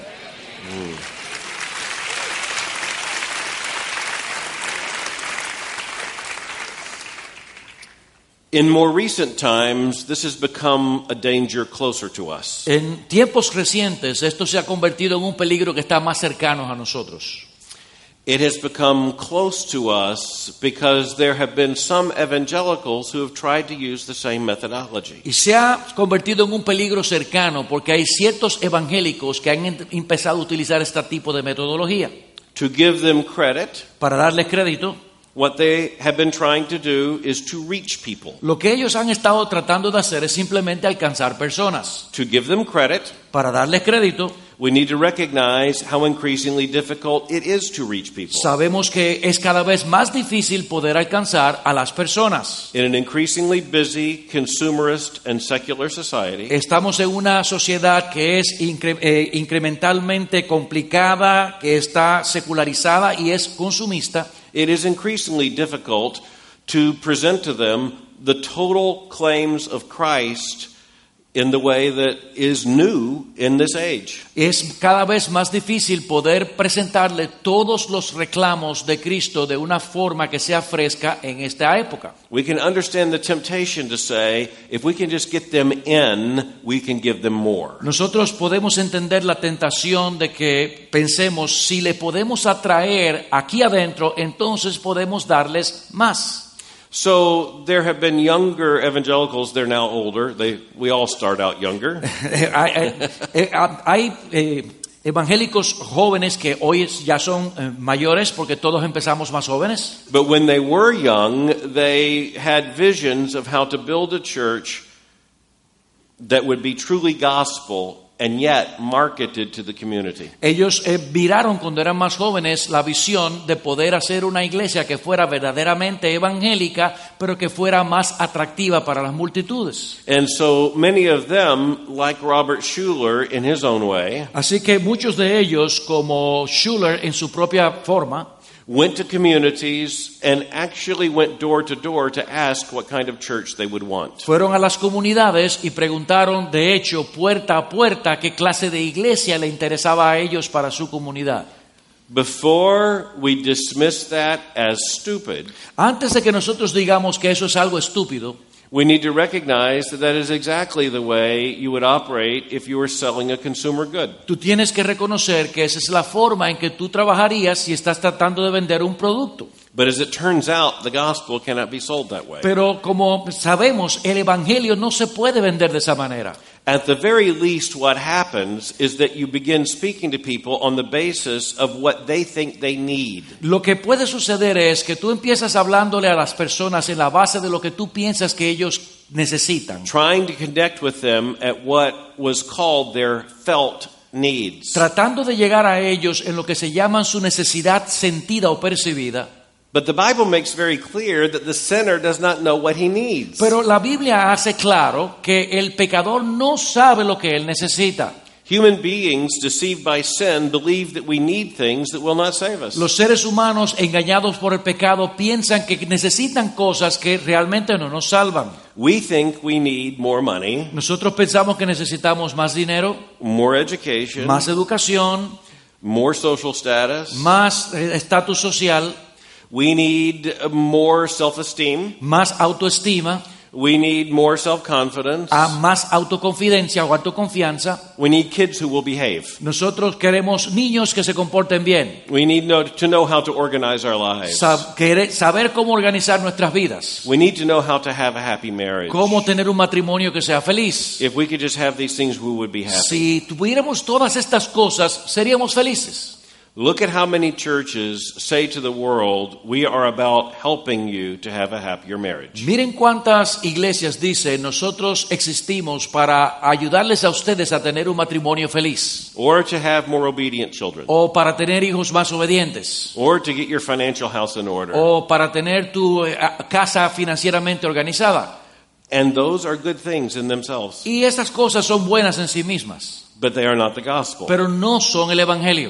In more recent times, this has become a danger closer to us. En tiempos recientes, esto se ha convertido en un peligro que está más cercano a nosotros. It has become close to us because there have been some evangelicals who have tried to use the same methodology. Y se ha convertido en un peligro cercano porque hay ciertos evangélicos que han empezado a utilizar este tipo de metodología. To give them credit, Para darles crédito, what they have been trying to do is to reach people. lo que ellos han estado tratando de hacer es simplemente alcanzar personas. To give them credit, Para darles crédito, we need to recognize how increasingly difficult it is to reach people. sabemos que es cada vez más difícil poder alcanzar a las personas. In an increasingly busy, consumerist, and secular society, Estamos en una sociedad que es incrementalmente complicada, que está secularizada y es consumista. it is increasingly difficult to present to them the total claims of Christ in the way that is new in this age. Es cada vez más difícil poder presentarle todos los reclamos de Cristo de una forma que sea fresca en esta época. We can understand the temptation to say, if we can just get them in, we can give them more. Nosotros podemos entender la tentación de que pensemos, si le podemos atraer aquí adentro, entonces podemos darles más. So there have been younger evangelicals, they're now older. We all start out younger. Hay evangélicos jóvenes que hoy ya son mayores porque todos empezamos más jóvenes. But when they were young, they had visions of how to build a church that would be truly gospel and yet marketed to the community. Ellos miraron cuando eran más jóvenes la visión de poder hacer una iglesia que fuera verdaderamente evangélica, pero que fuera más atractiva para las multitudes. And so many of them, like Robert Schuller in his own way, Así que muchos de ellos, como Schuller en su propia forma, went to communities and actually went door to ask what kind of church they would want. fueron a las comunidades y preguntaron, de hecho, puerta a puerta, qué clase de iglesia le interesaba a ellos para su comunidad. Before we dismiss that as stupid, Antes de que nosotros digamos que eso es algo estúpido, we need to recognize that that is exactly the way you would operate if you were selling a consumer good. tú tienes que reconocer que esa es la forma en que tú trabajarías si estás tratando de vender un producto. But as it turns out, the gospel cannot be sold that way. Pero como sabemos, el evangelio no se puede vender de esa manera. At the very least, what happens is that you begin speaking to people on the basis of what they think they need. Lo que puede suceder es que tú empiezas hablándole a las personas en la base de lo que tú piensas que ellos necesitan. Trying to connect with them at what was called their felt needs. Tratando de llegar a ellos en lo que se llama su necesidad sentida o percibida. But the Bible makes very clear that the sinner does not know what he needs. Pero la Biblia hace claro que el pecador no sabe lo que él necesita. Human beings deceived by sin believe that we need things that will not save us. Los seres humanos engañados por el pecado piensan que necesitan cosas que realmente no nos salvan. We think we need more money, Nosotros pensamos que necesitamos más dinero, more education, más educación, more social status. más estatus social, We need more self-esteem. más autoestima, We need more self-confidence. más autoconfidencia o autoconfianza. We need kids who will behave. Nosotros queremos niños que se comporten bien. We need to know how to organize our lives. Saber cómo organizar nuestras vidas. We need to know how to have a happy marriage. Cómo tener un matrimonio que sea feliz. If we could just have these things, we would be happy. Si tuviéramos todas estas cosas, seríamos felices. Look at how many churches say to the world, we are about helping you to have a happier marriage. Miren cuántas iglesias dicen, nosotros existimos para ayudarles a ustedes a tener un matrimonio feliz. Or to have more obedient children. O para tener hijos más obedientes. Or to get your financial house in order. O para tener tu casa financieramente organizada. And those are good things in themselves. Y esas cosas son buenas en sí mismas. But they are not the gospel. Pero no son el evangelio.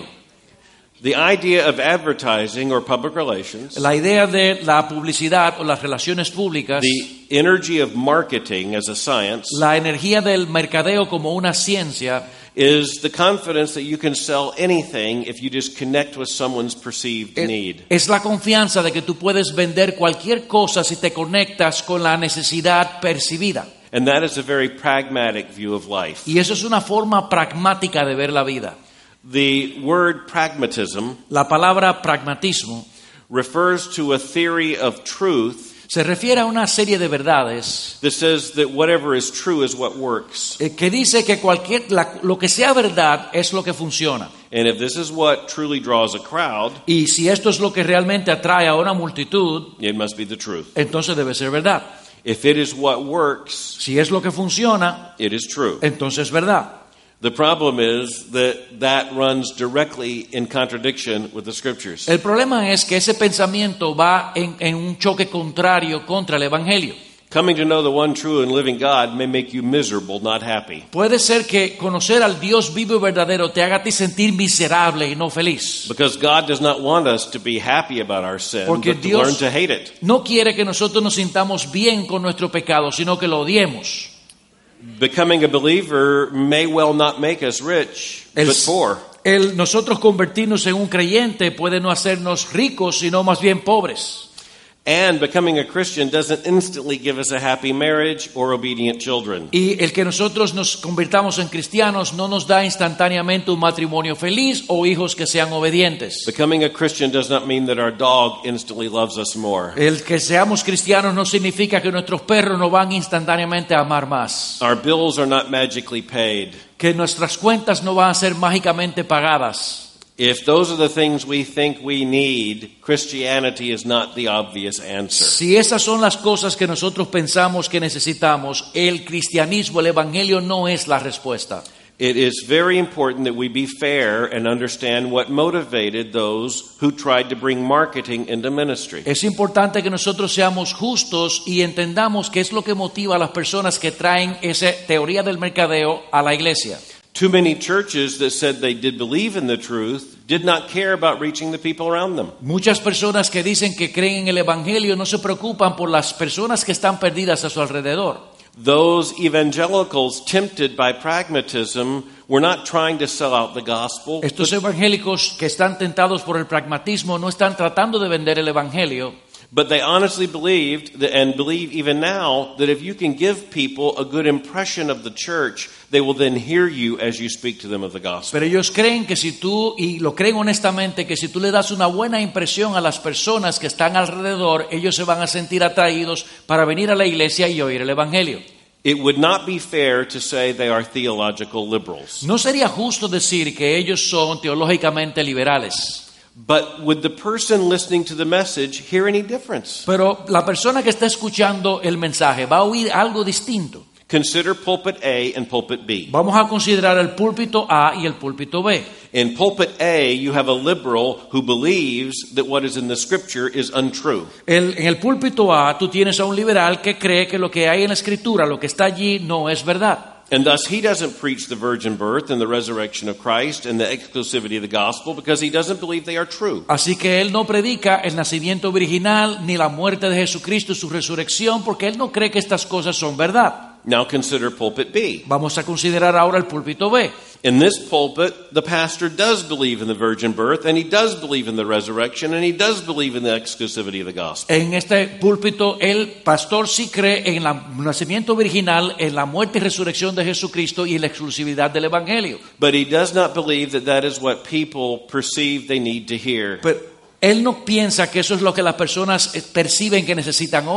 The idea of advertising or public relations, La idea de la publicidad o las relaciones públicas, the energy of marketing as a science, la energía del mercadeo como una ciencia, is the confidence that you can sell anything if you just connect with someone's perceived need. es la confianza de que tú puedes vender cualquier cosa si te conectas con la necesidad percibida. And that is a very pragmatic view of life. Y eso es una forma pragmática de ver la vida. The word pragmatism La palabra pragmatismo refers to a theory of truth se refiere a una serie de verdades that says that whatever is true is what works. que dice que lo que sea verdad es lo que funciona. And if this is what truly draws a crowd, Y si esto es lo que realmente atrae a una multitud, it must be the truth. entonces debe ser verdad. If it is what works, Si es lo que funciona, it is true. entonces es verdad. The problem is that runs directly in contradiction with the scriptures. El problema es que ese pensamiento va en un choque contrario contra el Evangelio. Coming to know the one true and living God may make you miserable, not happy. Puede ser que conocer al Dios vivo y verdadero te haga a ti sentir miserable y no feliz. Because God does not want us to be happy about our sin, Porque but to learn Dios to hate it. no quiere que nosotros nos sintamos bien con nuestro pecado, sino que lo odiemos. Becoming a believer may well not make us rich, but poor. Nosotros convertirnos en un creyente puede no hacernos ricos, sino más bien pobres. And becoming a Christian doesn't instantly give us a happy marriage or obedient children. Y el que nosotros nos convirtamos en cristianos no nos da instantáneamente un matrimonio feliz o hijos que sean obedientes. Becoming a Christian does not mean that our dog instantly loves us more. El que seamos cristianos no significa que nuestros perros nos van instantáneamente a amar más. Our bills are not magically paid. Que nuestras cuentas no van a ser mágicamente pagadas. If those are the things we think we need, Christianity is not the obvious answer. Si esas son las cosas que nosotros pensamos que necesitamos, el cristianismo, el evangelio no es la respuesta. It is very important that we be fair and understand what motivated those who tried to bring marketing into ministry. Es importante que nosotros seamos justos y entendamos qué es lo que motiva a las personas que traen esa teoría del mercadeo a la iglesia. Too many churches that said they did believe in the truth did not care about reaching the people around them. Muchas personas que dicen que creen en el evangelio no se preocupan por las personas que están perdidas a su alrededor. Those evangelicals tempted by pragmatism were not trying to sell out the gospel. Estos evangélicos que están tentados por el pragmatismo no están tratando de vender el evangelio. But they honestly believed and believe even now that if you can give people a good impression of the church, they will then hear you as you speak to them of the gospel. Pero ellos creen que si tú, y lo creen honestamente, que si tú le das una buena impresión a las personas que están alrededor, ellos se van a sentir atraídos para venir a la iglesia y oír el evangelio. It would not be fair to say they are theological liberals. No sería justo decir que ellos son teológicamente liberales. But would the person listening to the message hear any difference? Pero la persona que está escuchando el mensaje va a oír algo distinto. Consider pulpit A and pulpit B. Vamos a considerar el púlpito A y el púlpito B. In pulpit A, you have a liberal who believes that what is in the scripture is untrue. En el púlpito A tú tienes a un liberal que cree que lo que hay en la escritura, lo que está allí, no es verdad. And thus he doesn't preach the virgin birth and the resurrection of Christ and the exclusivity of the gospel because he doesn't believe they are true. Así que él no predica el nacimiento virginal ni la muerte de Jesucristo y su resurrección porque él no cree que estas cosas son verdad. Now consider pulpit B. Vamos a considerar ahora el púlpito B. In this pulpit, the pastor does believe in the virgin birth, and he does believe in the resurrection, and he does believe in the exclusivity of the gospel. En este púlpito, el pastor sí cree en el nacimiento virginal, en la muerte y resurrección de Jesucristo y en la exclusividad del evangelio. But he does not believe that that is what people perceive they need to hear. Pero él no piensa que eso es lo que las personas perciben que necesitan oír.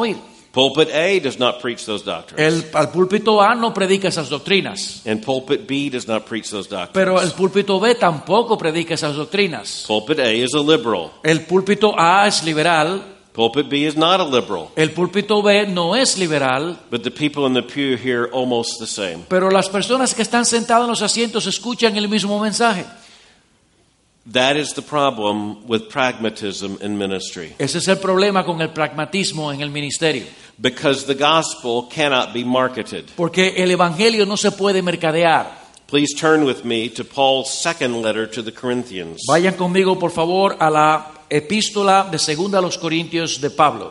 Pulpit A does not preach those doctrines. Al púlpito A no predica esas doctrinas, And pulpit B does not preach those doctrines. pero el púlpito B tampoco predica esas doctrinas. Pulpit A is a liberal. El púlpito A es liberal, Pulpit B is not a liberal. el púlpito B no es liberal, But the people in the pew hear almost the same. pero las personas que están sentadas en los asientos escuchan el mismo mensaje. That is the problem with pragmatism in ministry. Ese es el problema con el pragmatismo en el ministerio, Because the gospel cannot be marketed. porque el evangelio no se puede mercadear. Please turn with me to Paul's second letter to the Corinthians. Vayan conmigo, por favor, a la epístola de 2 a los Corintios de Pablo.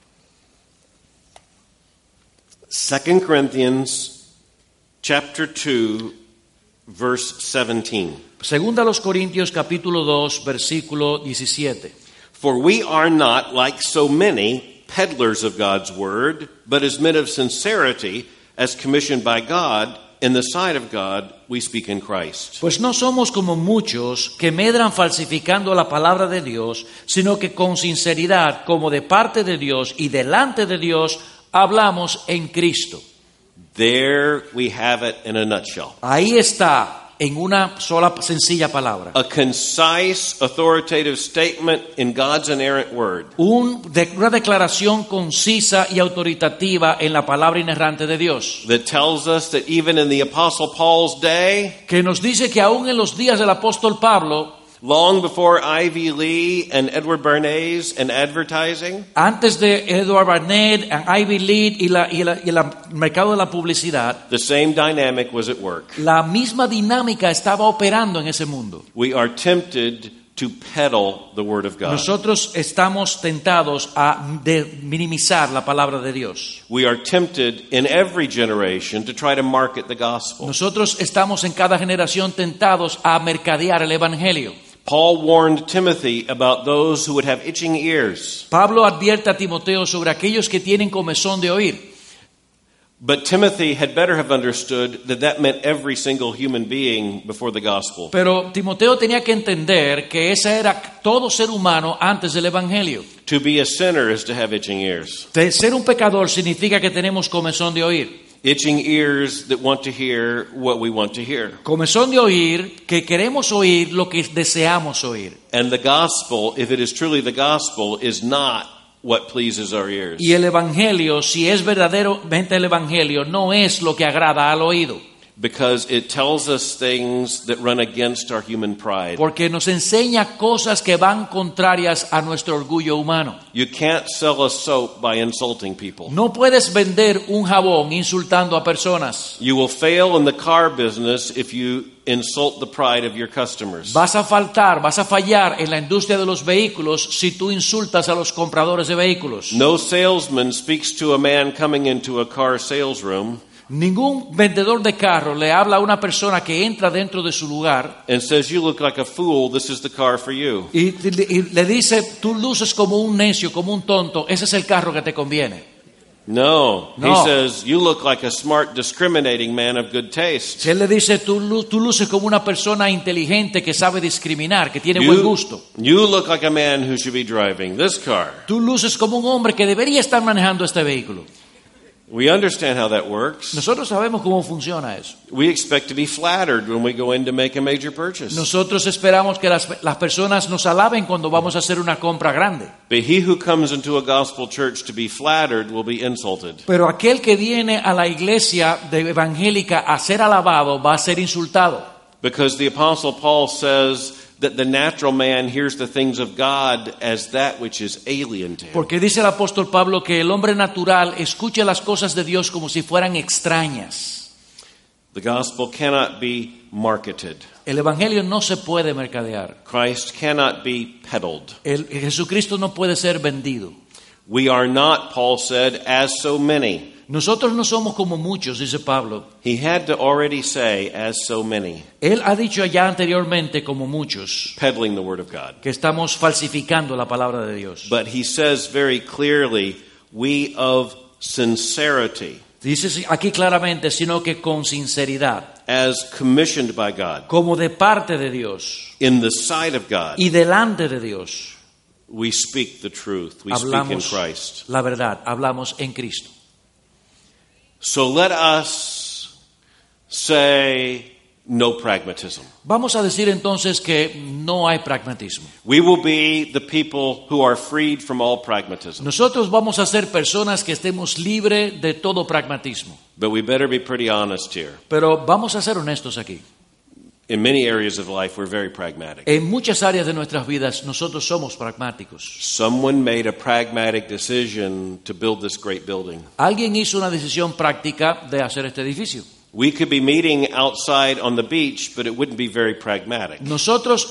2 Corinthians chapter 2 verse 17. 2 a los Corintios capítulo 2, versículo 17. For we are not like so many peddlers of God's word, but as men of sincerity, as commissioned by God, in the sight of God, we speak in Christ. Pues no somos como muchos que medran falsificando la palabra de Dios, sino que con sinceridad, como de parte de Dios y delante de Dios, hablamos en Cristo. There we have it in a nutshell. Ahí está, en una sola sencilla palabra. A concise, authoritative statement in God's inerrant word. Una declaración concisa y autoritativa en la palabra inerrante de Dios, That tells us that even in the Apostle Paul's day, que nos dice que aún en los días del apóstol Pablo, long before Ivy Lee and Edward Bernays and advertising, antes de Edward Barnett, Ivy League y el mercado de la publicidad, the same dynamic was at work. la misma dinámica estaba operando en ese mundo. We are tempted to peddle the word of God. Nosotros estamos tentados a minimizar la palabra de Dios. We are tempted in every generation to try to market the gospel. Nosotros estamos en cada generación tentados a mercadear el evangelio. Paul warned Timothy about those who would have itching ears. Pablo advierte a Timoteo sobre aquellos que tienen comezón de oír. But Timothy had better have understood that that meant every single human being before the gospel. Pero Timoteo tenía que entender que ese era todo ser humano antes del evangelio. To be a sinner is to have itching ears. De ser un pecador significa que tenemos comezón de oír. Itching ears that want to hear what we want to hear. Comezón de oír, que queremos oír lo que deseamos oír. And the gospel, if it is truly the gospel, is not what pleases our ears. Y el evangelio, si es verdaderamente el evangelio, no es lo que agrada al oído. Because it tells us things that run against our human pride. Porque nos enseña cosas que van contrarias a nuestro orgullo humano. You can't sell a soap by insulting people. No puedes vender un jabón insultando a personas. You will fail in the car business if you insult the pride of your customers. Vas a fallar en la industria de los vehículos si tú insultas a los compradores de vehículos. No salesman speaks to a man coming into a car sales room Ningún vendedor de carro le habla a una persona que entra dentro de su lugar and says, "You look like a fool, this is the car for you." y le dice, tú luces como un necio, como un tonto, ese es el carro que te conviene. No. No. He says, "You look like a smart, discriminating man of good taste." Si él le dice, tú luces como una persona inteligente que sabe discriminar, que tiene buen gusto. You look like a man who should be driving this car. Tú luces como un hombre que debería estar manejando este vehículo. We understand how that works. Nosotros sabemos cómo funciona eso. We expect to be flattered when we go in to make a major purchase. Nosotros esperamos que las personas nos alaben cuando vamos a hacer una compra grande. But he who comes into a gospel church to be flattered will be insulted. Pero aquel que viene a la iglesia evangélica a ser alabado va a ser insultado. Because the Apostle Paul says that the natural man hears the things of God as that which is alien to him. Porque dice el apóstol Pablo que el hombre natural escucha las cosas de Dios como si fueran extrañas. The gospel cannot be marketed. El evangelio no se puede mercadear. Christ cannot be peddled. Jesucristo no puede ser vendido. We are not, Paul said, as so many. Nosotros no somos como muchos, dice Pablo. He had to already say, as so many, Él ha dicho ya anteriormente, como muchos, peddling the word of God. que estamos falsificando la palabra de Dios. But he says very clearly, we of sincerity, Dice aquí claramente, sino que con sinceridad, as commissioned by God, como de parte de Dios in the sight of God, y delante de Dios, we speak the truth. We speak in hablamos Christ. la verdad, hablamos en Cristo. So let us say no pragmatism. Vamos a decir entonces que no hay pragmatismo. We will be the people who are freed from all pragmatism. Nosotros vamos a ser personas que estemos libres de todo pragmatismo. But we better be pretty honest here. Pero vamos a ser honestos aquí. In many areas of life, we're very pragmatic. En muchas áreas de nuestras vidas nosotros somos pragmáticos. Someone made a pragmatic decision to build this great building. Alguien hizo una decisión práctica de hacer este edificio. We could be meeting outside on the beach, but it wouldn't be very pragmatic. Nosotros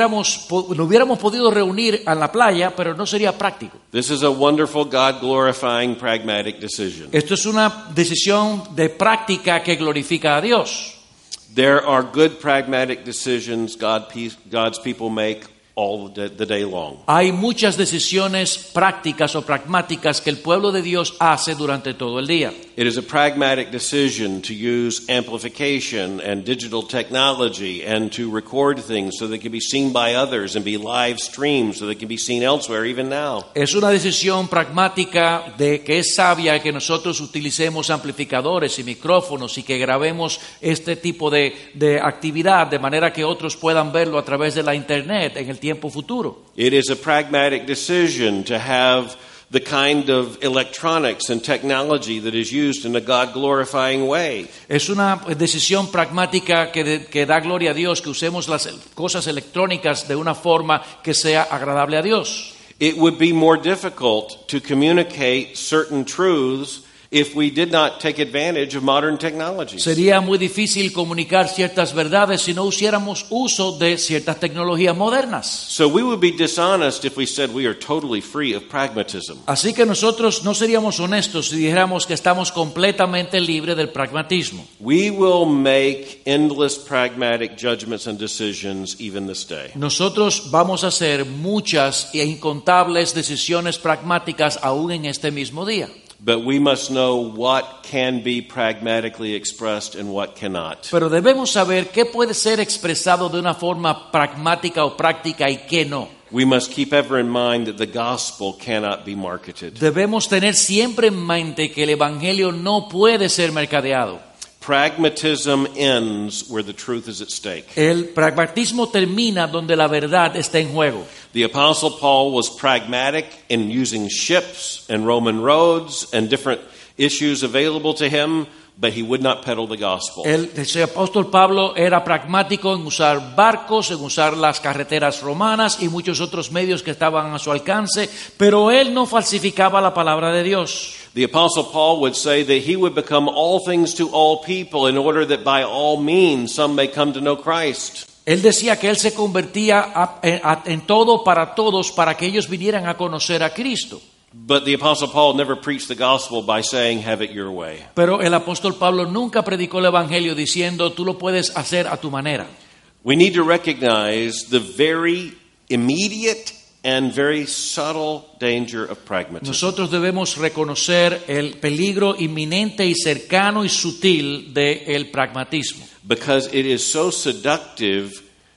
nos hubiéramos podido reunir en la playa, pero no sería práctico. This is a wonderful, God-glorifying, pragmatic decision. Esto es una decisión de práctica que glorifica a Dios. There are good pragmatic decisions God's people make all the day long. Hay muchas decisiones prácticas o pragmáticas que el pueblo de Dios hace durante todo el día. It is a pragmatic decision to use amplification and digital technology and to record things so they can be seen by others and be live streamed so they can be seen elsewhere even now. Es una decisión pragmática de que es sabia que nosotros utilicemos amplificadores y micrófonos y que grabemos este tipo de actividad de manera que otros puedan verlo a través de la internet en el tiempo futuro. It is a pragmatic decision to have the kind of electronics and technology that is used in a God-glorifying way. Es una decisión pragmática que da gloria a Dios, que usemos las cosas electrónicas de una forma que sea agradable a Dios. It would be more difficult to communicate certain truths if we did not take advantage of modern technologies. Sería muy difícil comunicar ciertas verdades si no hiciéramos uso de ciertas tecnologías modernas. So we would be dishonest if we said we are totally free of pragmatism. Así que nosotros no seríamos honestos si dijéramos que estamos completamente libres del pragmatismo. We will make endless pragmatic judgments and decisions even this day. Nosotros vamos a hacer muchas e incontables decisiones pragmáticas aún en este mismo día. But we must know what can be pragmatically expressed and what cannot. Pero debemos saber qué puede ser expresado de una forma pragmática o práctica y qué no. We must keep ever in mind that the gospel cannot be marketed. Debemos tener siempre en mente que el evangelio no puede ser mercadeado. Pragmatism ends where the truth is at stake. El pragmatismo termina donde la verdad está en juego. The Apostle Paul was pragmatic in using ships and Roman roads and different issues available to him, but he would not peddle the gospel. El apóstol Pablo era pragmático en usar barcos, en usar las carreteras romanas y muchos otros medios que estaban a su alcance, pero él no falsificaba la palabra de Dios. The Apostle Paul would say that he would become all things to all people in order that by all means some may come to know Christ. Él decía que él se convertía en todo para todos para que ellos vinieran a conocer a Cristo. But the Apostle Paul never preached the gospel by saying, have it your way. Pero el apóstol Pablo nunca predicó el evangelio diciendo tú lo puedes hacer a tu manera. We need to recognize the very immediate and very subtle danger of pragmatism. Nosotros debemos reconocer el peligro inminente y cercano y sutil del pragmatismo. Because it is so seductive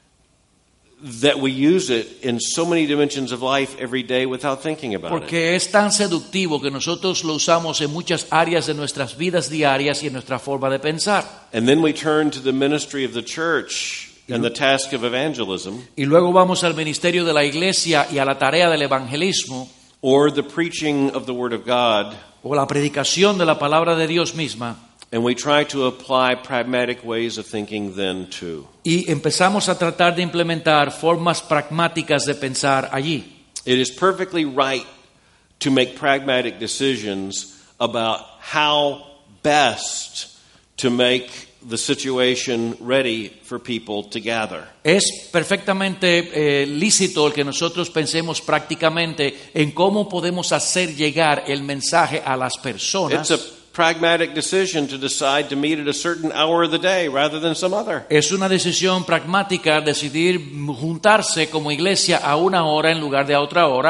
that we use it in so many dimensions of life every day without thinking about it. Porque es tan seductivo que nosotros lo usamos en muchas áreas de nuestras vidas diarias y en nuestra forma de pensar. And then we turn to the ministry of the church and the task of evangelism, Y luego vamos al ministerio de la iglesia y a la tarea del evangelismo or the preaching of the Word of God, o la predicación de la palabra de Dios misma. and we try to apply pragmatic ways of thinking then too. Y empezamos a tratar de implementar formas pragmáticas de pensar allí. It is perfectly right to make pragmatic decisions about how best to make the situation ready for people to gather. Es perfectamente lícito el que nosotros pensemos prácticamente en cómo podemos hacer llegar el mensaje a las personas. It's a pragmatic decision to decide to meet at a certain hour of the day rather than some other. Es una decisión pragmática decidir juntarse como iglesia a una hora en lugar de a otra hora.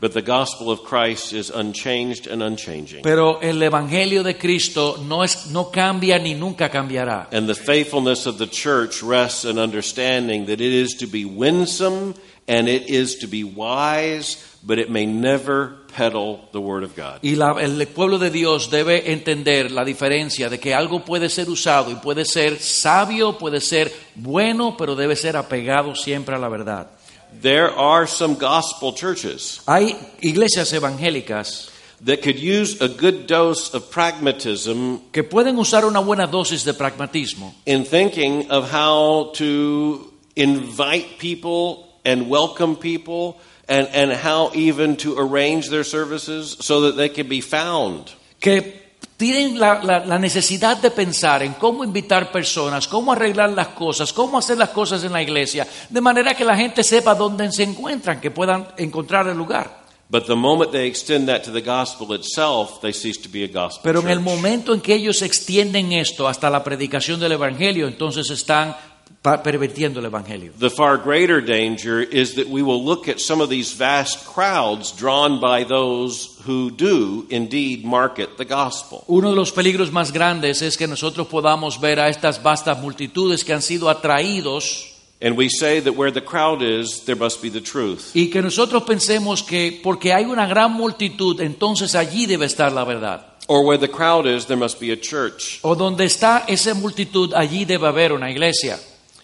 But the gospel of Christ is unchanged and unchanging. Pero el evangelio de Cristo no cambia ni nunca cambiará. And the faithfulness of the church rests in understanding that it is to be winsome and it is to be wise, but it may never peddle the word of God. Y el pueblo de Dios debe entender la diferencia de que algo puede ser usado y puede ser sabio, puede ser bueno, pero debe ser apegado siempre a la verdad. There are some gospel churches Hay iglesias evangélicas that could use a good dose of pragmatism que pueden usar una buena dosis de pragmatismo in thinking of how to invite people and welcome people and how even to arrange their services so that they can be found. que tienen la necesidad de pensar en cómo invitar personas, cómo arreglar las cosas, cómo hacer las cosas en la iglesia, de manera que la gente sepa dónde se encuentran, que puedan encontrar el lugar. But the moment they extend that to the gospel itself, they cease to be a gospel Pero en el church. momento en que ellos extienden esto hasta la predicación del evangelio, entonces están pervirtiendo el evangelio. The far greater danger is that we will look at some of these vast crowds drawn by those who do indeed market the gospel. Uno de los peligros más grandes es que nosotros podamos ver a estas vastas multitudes que han sido atraídos And we say that where the crowd is, there must be the truth. y que nosotros pensemos que porque hay una gran multitud, entonces allí debe estar la verdad. Or where the crowd is, there must be a church. O donde está esa multitud, allí debe haber una iglesia.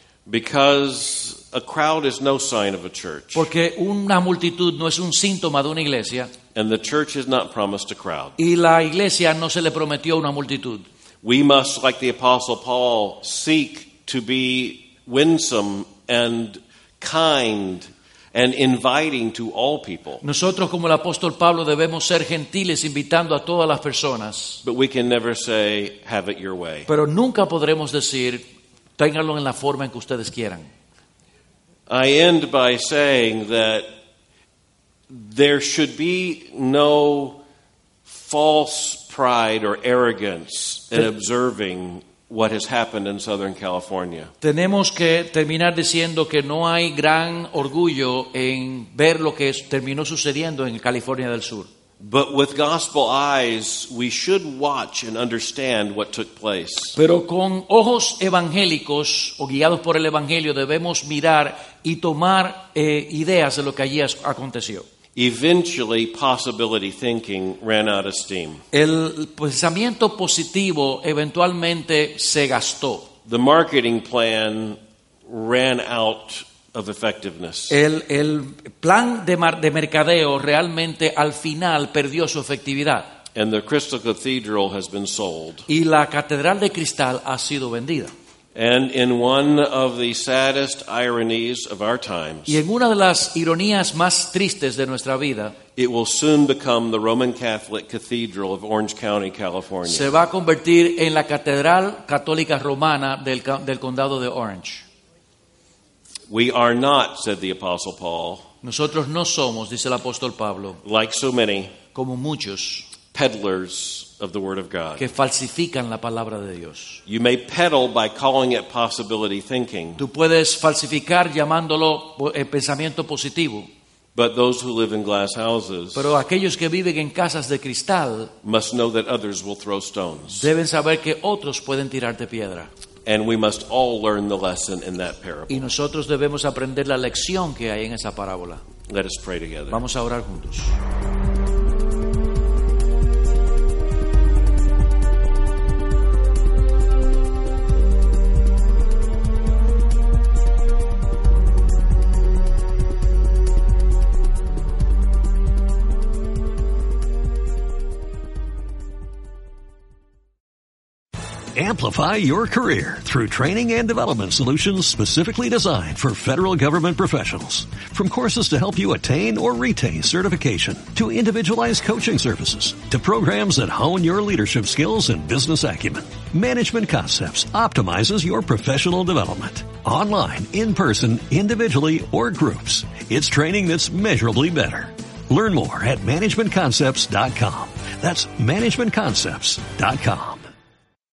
Because a crowd is no sign of a church. Porque una multitud no es un síntoma de una iglesia And the church is not promised a crowd. y la iglesia no se le prometió una multitud. We must, like the Apostle Paul, seek to be winsome and kind and inviting to all people. Nosotros como el apóstol Pablo debemos ser gentiles invitando a todas las personas, But we can never say, have it your way. pero nunca podremos decir, ténganlo en la forma en que ustedes quieran. I end by saying that there should be no false pride or arrogance in observing what has happened in Southern California. Tenemos que terminar diciendo que no hay gran orgullo en ver lo que terminó sucediendo en California del Sur. But with gospel eyes, we should watch and understand what took place. Pero con ojos evangélicos o guiados por el evangelio debemos mirar y tomar ideas de lo que allí aconteció. Eventually, possibility thinking ran out of steam. El pensamiento positivo eventualmente se gastó. The marketing plan ran out of effectiveness. El plan de mercadeo realmente al final perdió su efectividad. And the Crystal Cathedral has been sold. Y la Catedral de Cristal ha sido vendida. And in one of the saddest ironies of our times, Y en una de las ironías más tristes de nuestra vida, it will soon become the Roman Catholic Cathedral of Orange County, California. se va a convertir en la Catedral Católica Romana del condado de Orange. We are not, said the Apostle Paul, Nosotros no somos, dice el apóstol Pablo, like so many, como muchos peddlers of the Word of God. que falsifican la palabra de Dios. You may peddle by calling it possibility thinking, Tú puedes falsificar llamándolo pensamiento positivo, but those who live in glass houses pero aquellos que viven en casas de cristal must know that others will throw stones. deben saber que otros pueden tirarte piedra. And we must all learn the lesson in that parable. Y nosotros debemos aprender la lección que hay en esa parábola. Let us pray together. Vamos a orar juntos. Amplify your career through training and development solutions specifically designed for federal government professionals. From courses to help you attain or retain certification, to individualized coaching services, to programs that hone your leadership skills and business acumen, Management Concepts optimizes your professional development. Online, in person, individually, or groups, it's training that's measurably better. Learn more at managementconcepts.com. That's managementconcepts.com.